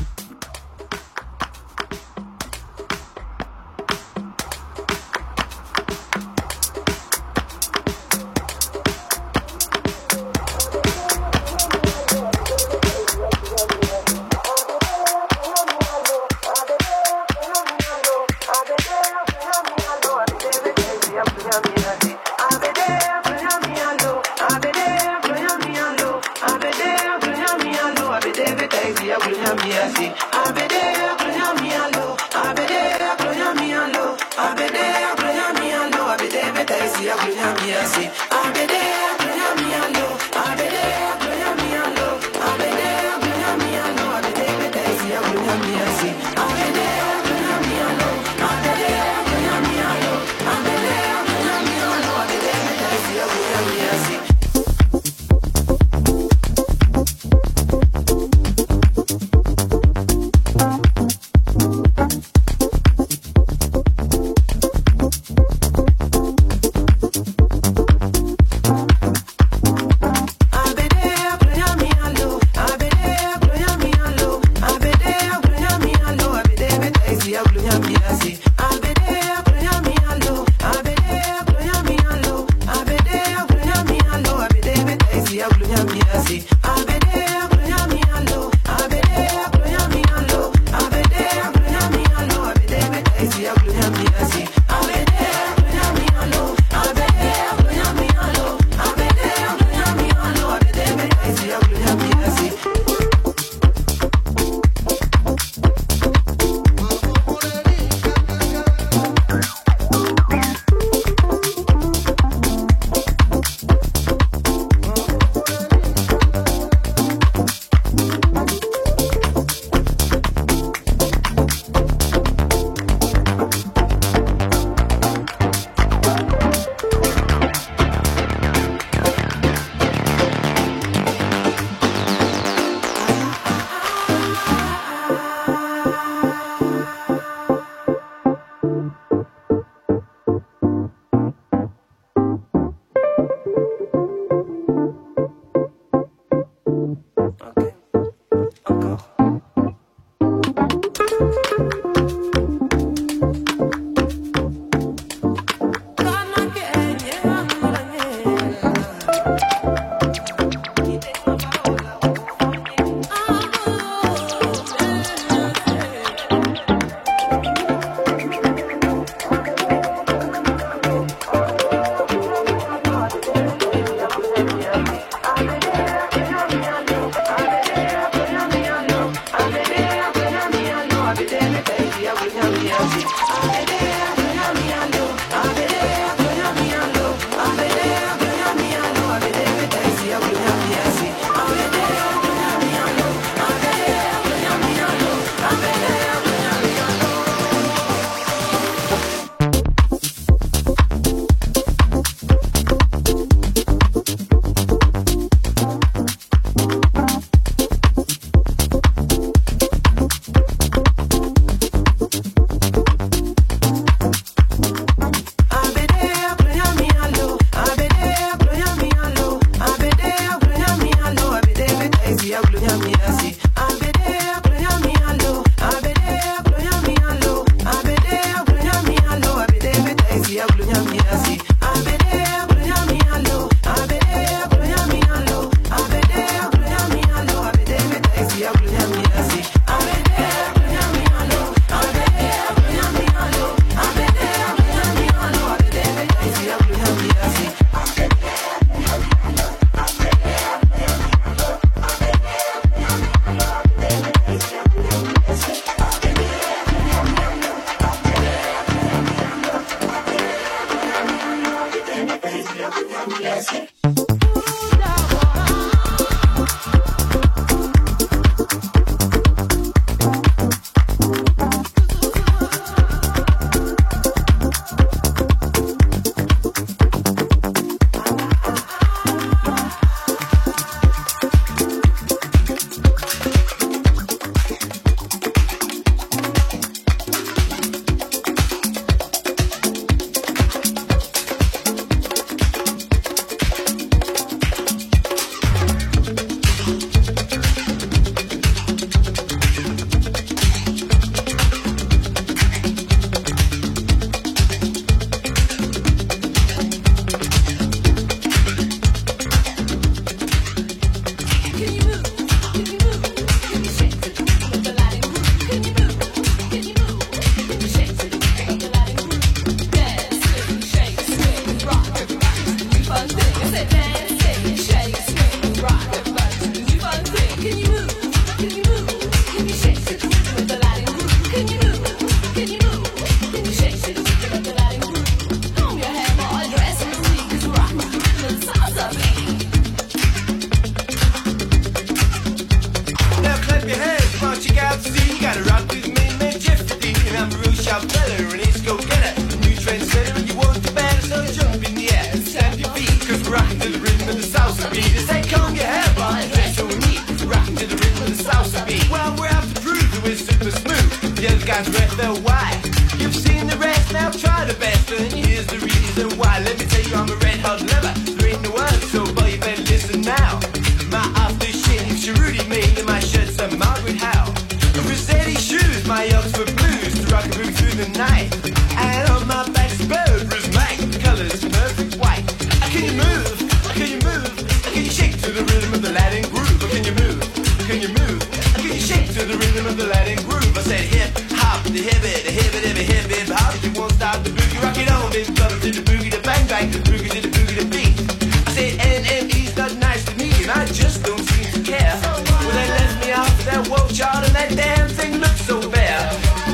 Now clap your hands, come on, check out the scene. You gotta rock with me, man, Jeffrey Dean. I'm a real sharp fella, and it's go-getter. New trendsetter, and you want the baddest, so jump in the air and stamp your feet. Cause we're rocking to the rhythm of the salsa beat. It's like, comb your hair, boy, that's what we need. We're rocking to the rhythm of the salsa beat. Well, we're out to prove that we're super smooth. The other guys are F L Y. You've seen the rest, now try the best. And here's the reason why. Let me tell you, I'm a red hot lover. There ain't no one, so boy, you better listen now. My aftershave, Rudy me, and my shirt's a Margaret Howe. Rossetti shoes, my Oxford blues, to rock and move through the night. And on my back's Burberry's Mike, the colour's perfect white. Can you move? Can you move? Can you shake to the rhythm of the Latin groove? Can you move? Can you move? Can you shake to the rhythm of the Latin groove? I said hip hop, the hip it, the hip it, the hip hip hop. You won't stop the boogie, rock it on, baby, brother, to the boogie, the bang bang, the boogie to the boogie, the beat. I said N M E's not nice to me, and I just don't seem to care. Well, they left me off that woke chart, and that damn thing looks so bad.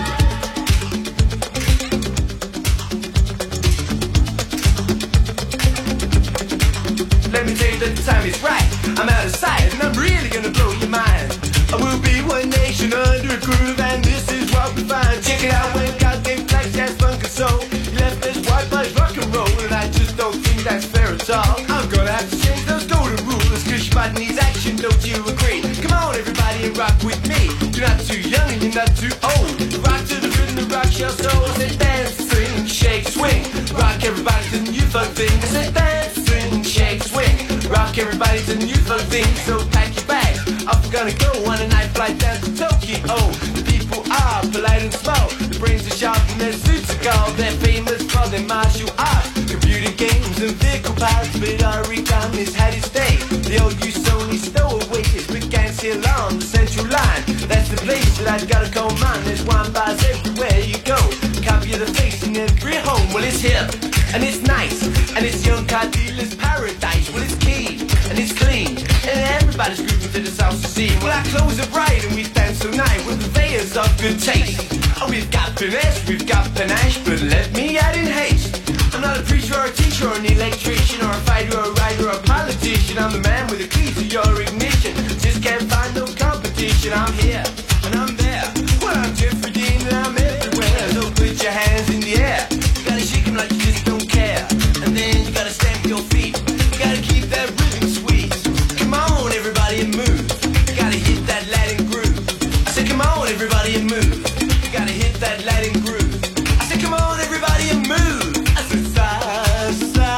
Let me tell you that the time is right. I'm out of sight, and I'm really gonna blow your mind. I will be one nation under a groove, and this is what we find. Check it out when God gave flags, jazz, funk, and soul. You left this white boys rock and roll, and I just don't think that's fair at all. I'm gonna have to change those golden rules, cause your body needs action, don't you agree? Come on, everybody, and rock with me. You're not too young, and you're not too old. Rock to the rhythm, the rock your soul. I said dance, swing, shake, swing. Rock everybody to the new funk thing. I said dance, swing, shake, swing. Rock everybody to the new funk thing. So pack your bag, off we're gonna go on a night flight down to Tokyo. The people are polite and small. The brains are sharp and their suits are gold. They're famous for their martial arts, computer games and vehicle parts. But origami's had its day. The old use only stowaway is began still on the central line. That's the place that I've gotta call mine. There's wine bars everywhere you go. Copy of the face in every home. Well, it's hip and it's nice and it's young car dealer's paradise. Well, it's keen and it's clean and everybody's grooving to the salsa scene. Well, our clothes are bright and we dance so nice with purveyors of good taste. Oh, we've got finesse, we've got panache, but let me add in haste. I'm not a preacher or a teacher or an electrician or a fighter or a writer or a politician. I'm the man with the key to your ignition. Just can't find no competition. I'm here and I'm there. Well, I'm Jeffrey Dean and I'm everywhere. So put your hands in the air. You gotta shake them like you just don't care. And then you gotta stamp your feet. You gotta keep that rhythm sweet. Come on, everybody, and move. You gotta hit that Latin groove. I said, come on, everybody, and move. You gotta hit that Latin groove. I said, come on, everybody, and move. I said, sa, sa.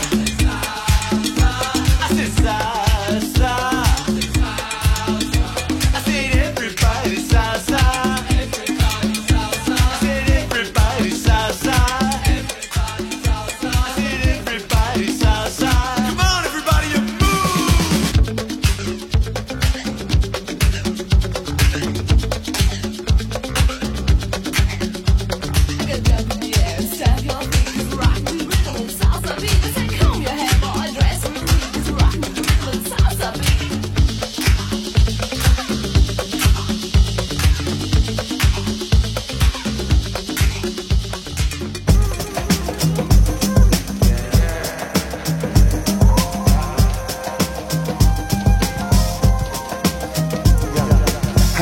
I said, sa, sa. I said, everybody, sa, sa. I said, everybody, sa, sa. I said, everybody, sa, sa.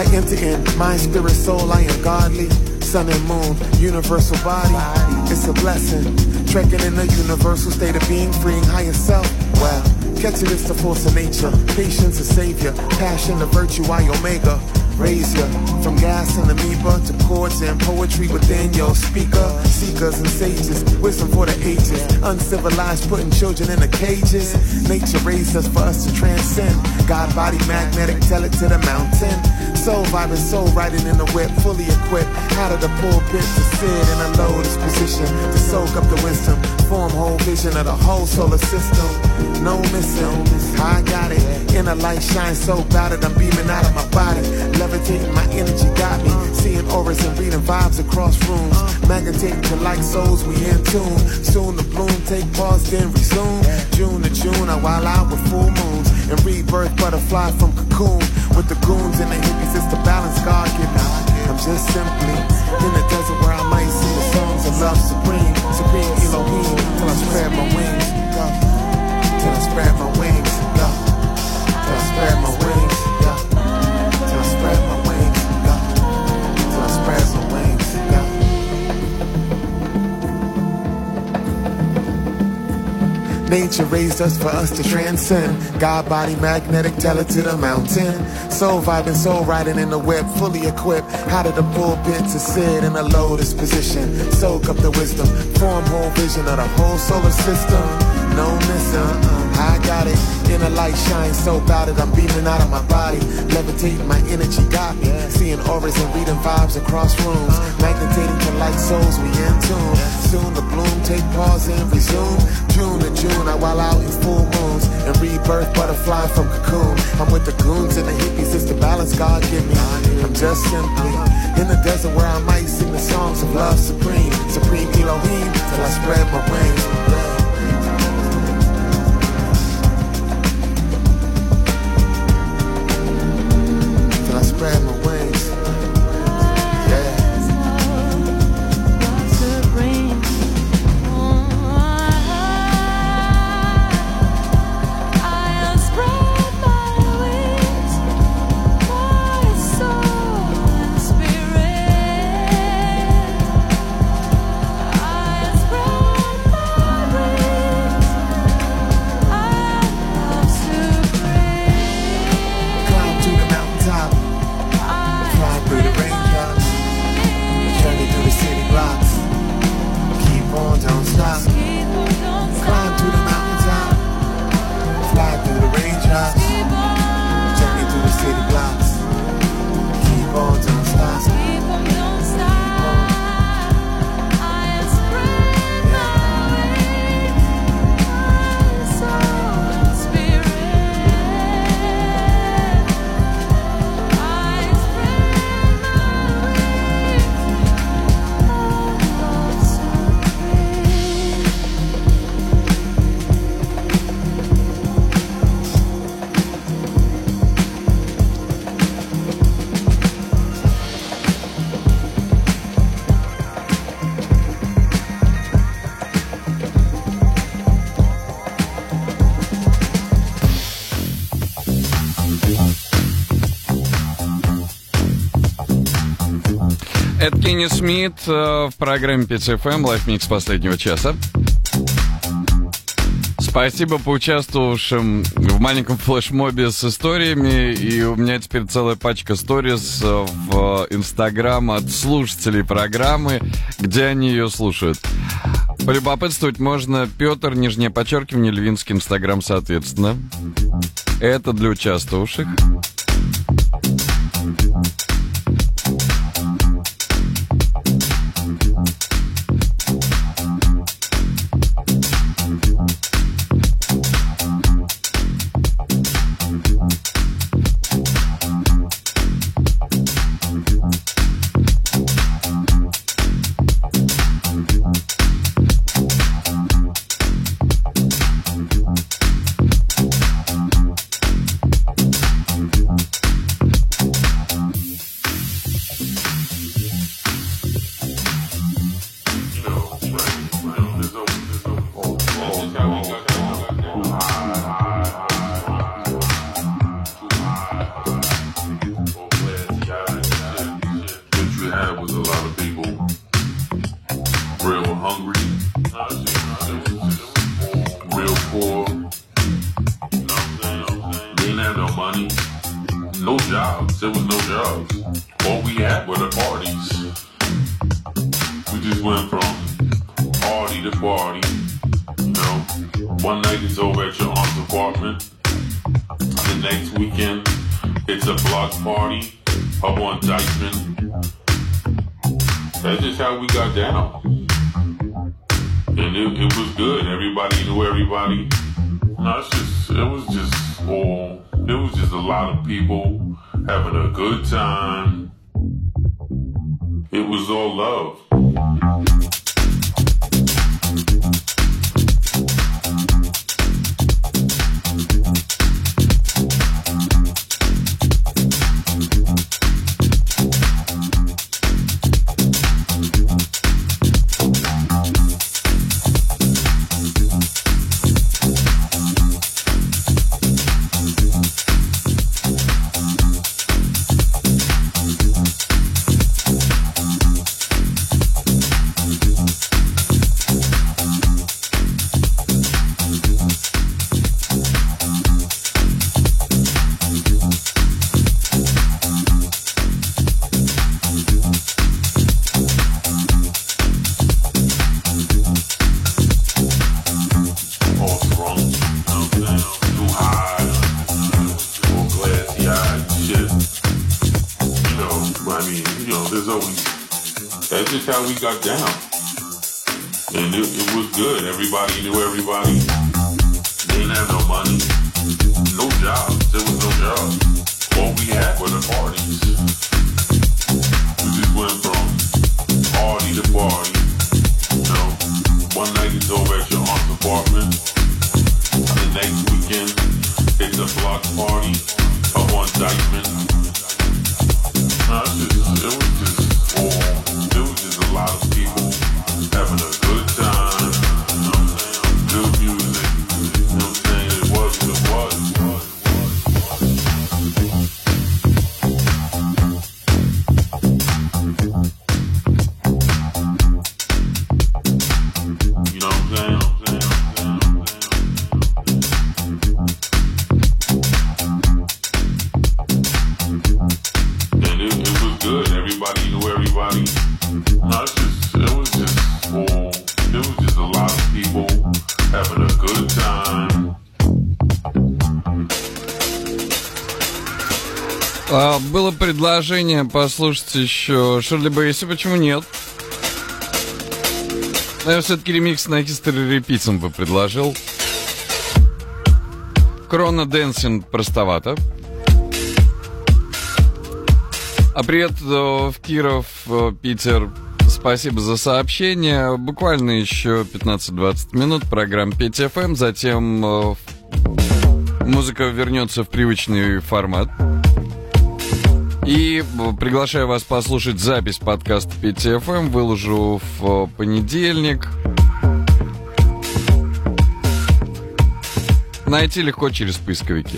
I enter in mind, spirit, soul, I am godly. Sun and moon, universal body, it's a blessing. Trekking in the universal state of being, freeing higher self. Well, catch it, it's the force of nature. Patience, a savior. Passion, a virtue, I omega. Raise ya from gas and amoeba to chords and poetry within your speaker. Seekers and sages, wisdom for the ages. Uncivilized, putting children in the cages. Nature raised us for us to transcend. God body magnetic, tell it to the mountain. Soul vibing, soul riding in the whip, fully equipped. Out of the pulpit to sit in a lotus position to soak up the wisdom. Form whole vision of the whole solar system. No missing, I got it. Inner light shines so bright that I'm beaming out of my body. Levitating, my energy got me. Seeing auras and reading vibes across rooms. Magnetating to like souls, we in tune. Soon the bloom, take pause, then resume. June to June, I wild out with full moons. And rebirth, butterfly from cocoon. With the goons and the hippies, it's the balance God give me. I'm just simply in the desert where I might sing the songs of love supreme. Supreme Elohim, till I spread my wings. Go. Till I spread my wings. Go. Till I spread my wings. Go. Till I spread my wings. Go. Till I spread my wings. Go. Nature raised us for us to transcend. God body magnetic, tell it to the mountain. Soul vibing, soul riding in the web, fully equipped. Out of the pulpit to sit in a lotus position. Soak up the wisdom, form whole vision of the whole solar system. No missing, I got it. Inner light shines so bright that I'm beaming out of my body. Levitating, my energy got me. Seeing auras and reading vibes across rooms. Magnetating to like souls, we in tune. Soon the bloom, take pause and resume. June to June, I while out in full moons. And rebirth, butterfly from cocoon. I'm with the goons and the hippies, it's the balance God give me. I'm just simply in the desert where I might sing the songs of love supreme. Supreme Elohim, till I spread my wings. Spread my wings. Yeah. Это Кенни Смит э, в программе пять эф эм Live Mix последнего часа. Спасибо поучаствовавшим в маленьком флешмобе с историями. И у меня теперь целая пачка сториз в Инстаграм от слушателей программы, где они ее слушают. Полюбопытствовать можно. Петр, нижнее подчеркивание, Львинский, Инстаграм, соответственно. Это для участвовавших. no jobs. There was no jobs. All we had were the parties. We just went from party to party. You know, one night it's over at your aunt's apartment. The next weekend it's a block party up on Dykeman. That's just how we got down. And it, it was good. Everybody knew everybody. No, it's just, it was just all, it was just a lot of people having a good time. It was all love. We got down, and it, it was good. Everybody knew everybody. They didn't have no money, no jobs. There was no jobs. All we had were the parties. We just went from party to party. You know, one night it's over at your aunt's apartment. The next weekend it's a block party up on Dykeman. No, it's just, it was just all. It was just a lot of people having a good time, you know what I'm saying? Good music, you know what I'm saying? It was what it was. You know what I'm saying? And it, it was good. Everybody knew everybody. No, it's just, it was just all, it was just a lot of people having a good time. А, было предложение послушать еще Ширли Бейси, почему нет? Но я все-таки ремикс на History Repeats бы предложил. Крона Dancing простовато. А привет в Киров, Питер. Спасибо за сообщение. Буквально еще пятнадцать-двадцать минут программа пять эф эм. Затем э, музыка вернется в привычный формат. И приглашаю вас послушать запись подкаста пять эф эм. Выложу в понедельник. Найти легко через поисковики.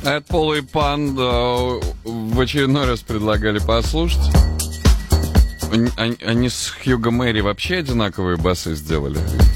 Это Пол и Пан в очередной раз предлагали послушать. Они, они, они с Хьюго Мэри вообще одинаковые басы сделали.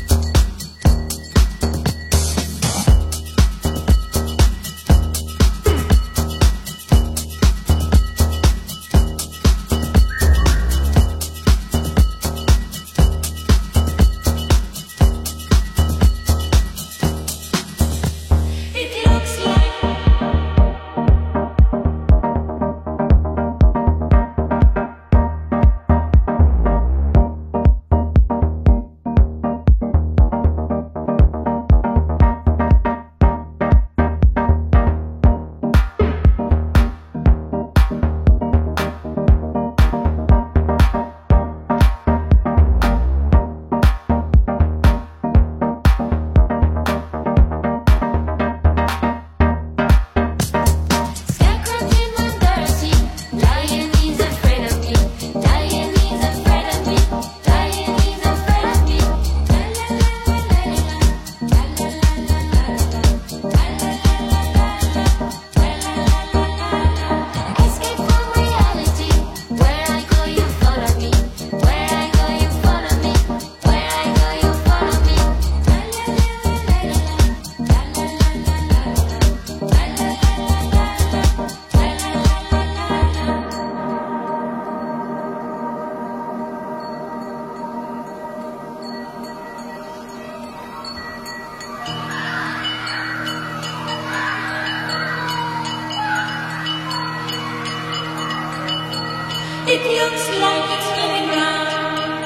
It looks like it's coming round.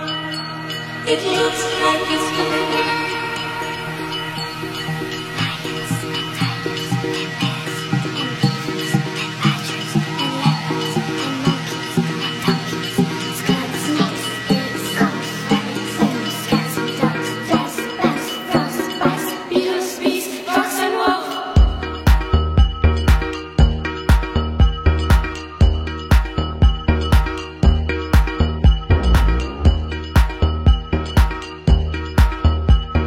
It looks like it's coming round. Thank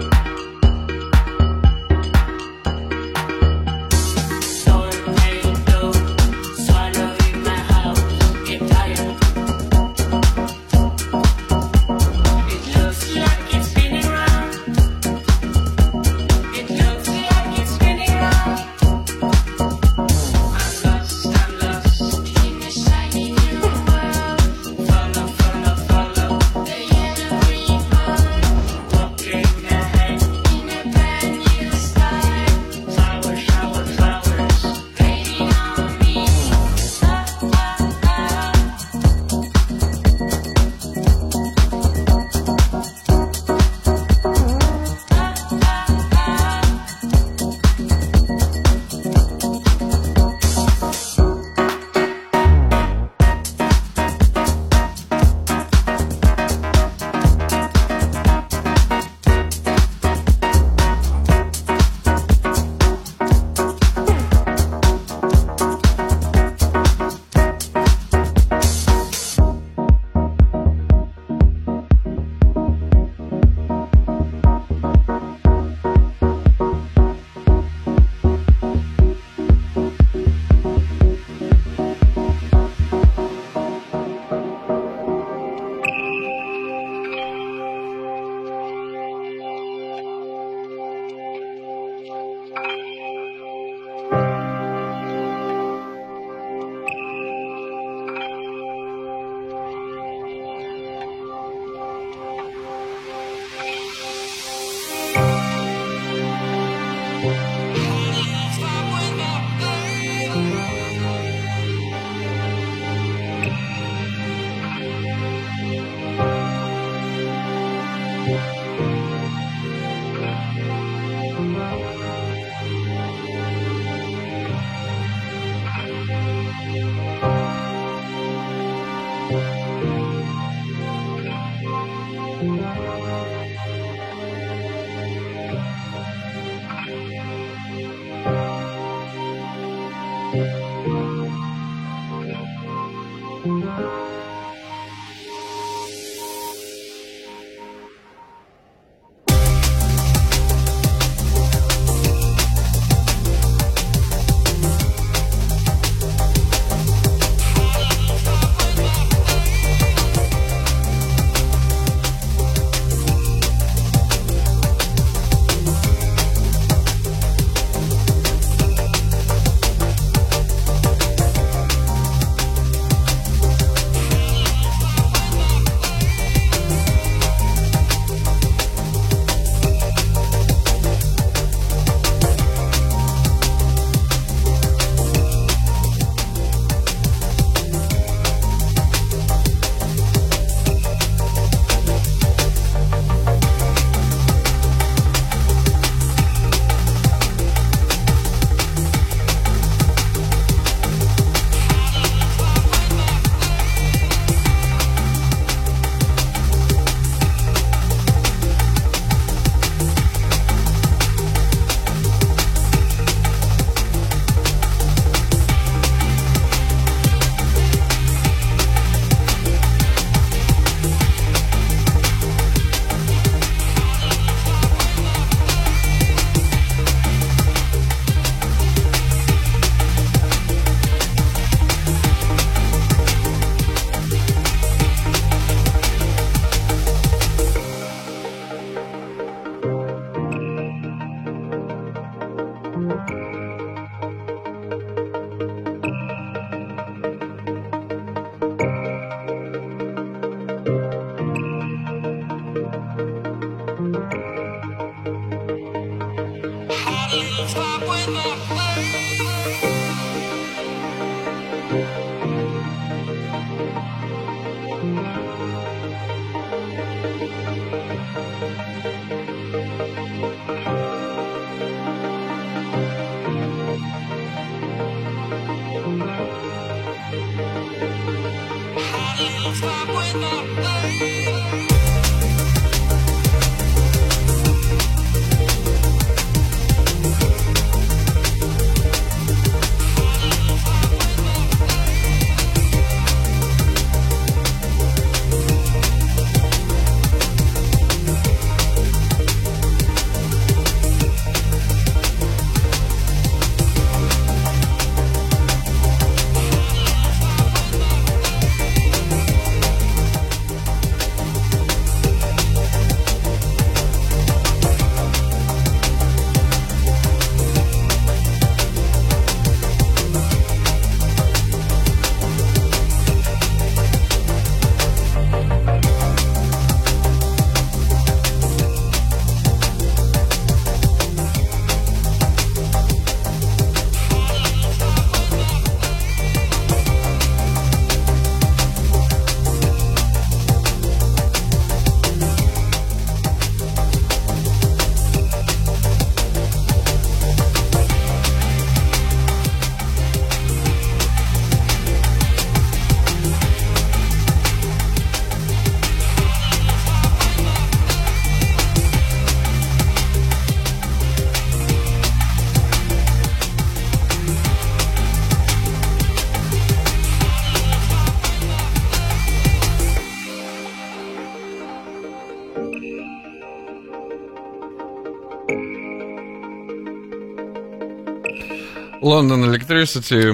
London Electricity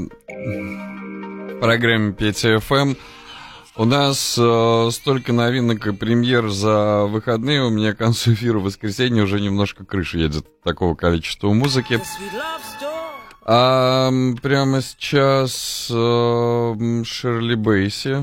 в программе Петя эф эм. У нас э, столько новинок и премьер за выходные. У меня к концу эфира в воскресенье уже немножко крыша едет от такого количества музыки. А прямо сейчас э, Шерли Бейси.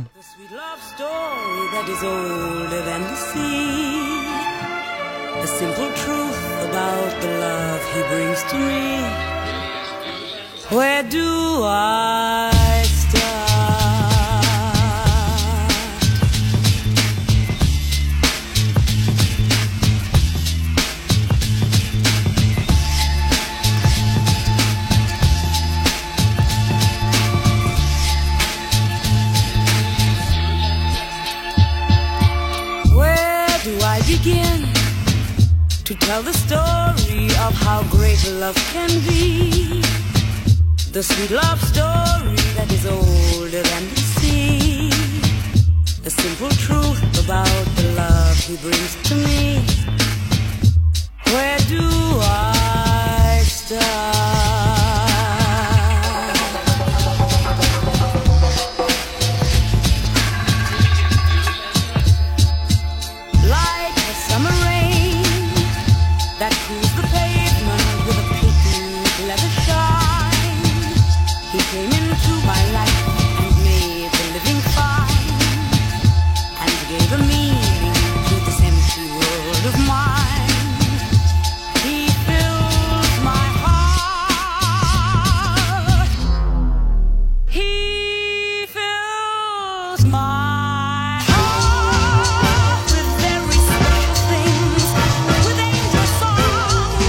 Where do I start? Where do I begin to tell the story of how great love can be? The sweet love story that is older than the sea. The simple truth about the love he brings to me. Where do I start? Like a summer rain that cools the pavement with a pink leather shine. He came into my life and made the living fine, and gave a meaning to this empty world of mine. He fills my heart. He fills my heart with very special things, with angel songs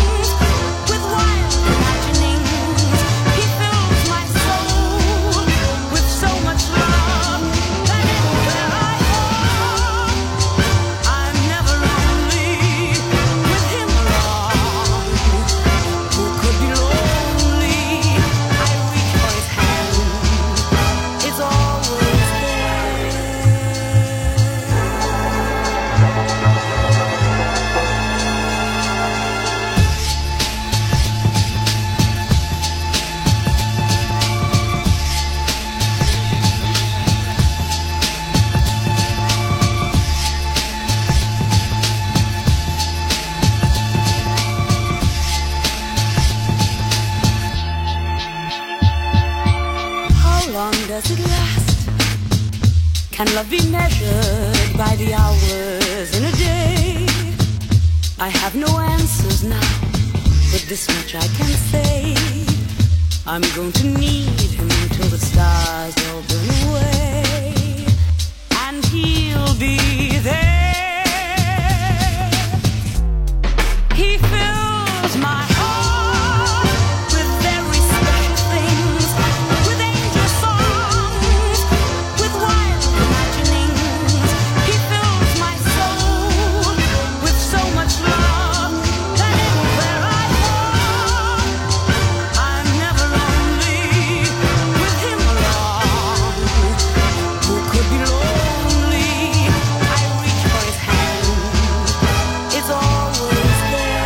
does it last? Can love be measured by the hours in a day? I have no answers now, but this much I can say. I'm going to need him till the stars all burn away, and he'll be there. He fills my heart with very special things, with angel songs, with wild imaginings. He fills my soul with so much love that anywhere I go, I'm never lonely with him along. Who could be lonely? I reach for his hand, it's always there.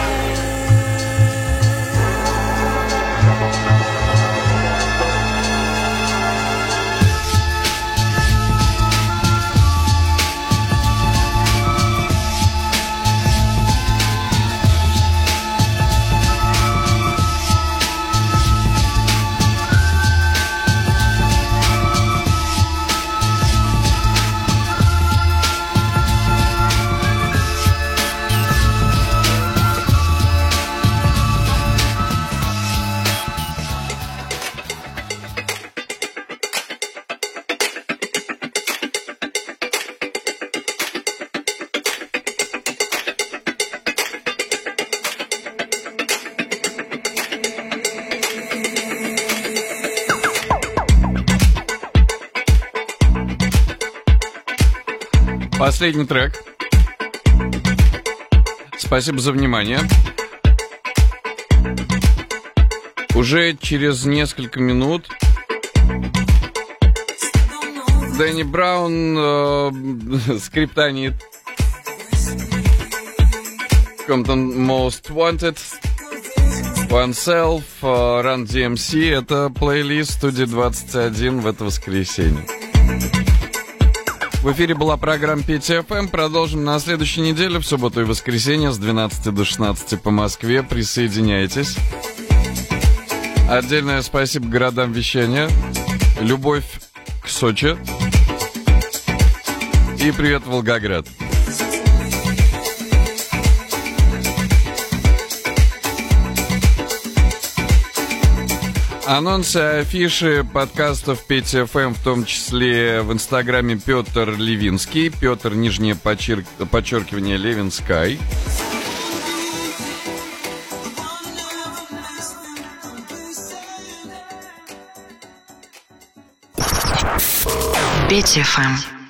Последний трек. Спасибо за внимание. Уже через несколько минут Дэнни Браун, э, Скриптонит, Compton Most Wanted, Oneself, э, Run ди эм си. Это плейлист студии двадцать один в это воскресенье. В эфире была программа пи ти эф эм. Продолжим на следующей неделе, в субботу и воскресенье с двенадцати до шестнадцати по Москве. Присоединяйтесь. Отдельное спасибо городам вещания. Любовь к Сочи. И привет, Волгоград. Анонсы, афиши подкастов пи ти эф эм, в том числе в инстаграме Петр Левинский, Петр, нижнее подчерк... подчеркивание, Левинскай. пи ти эф эм.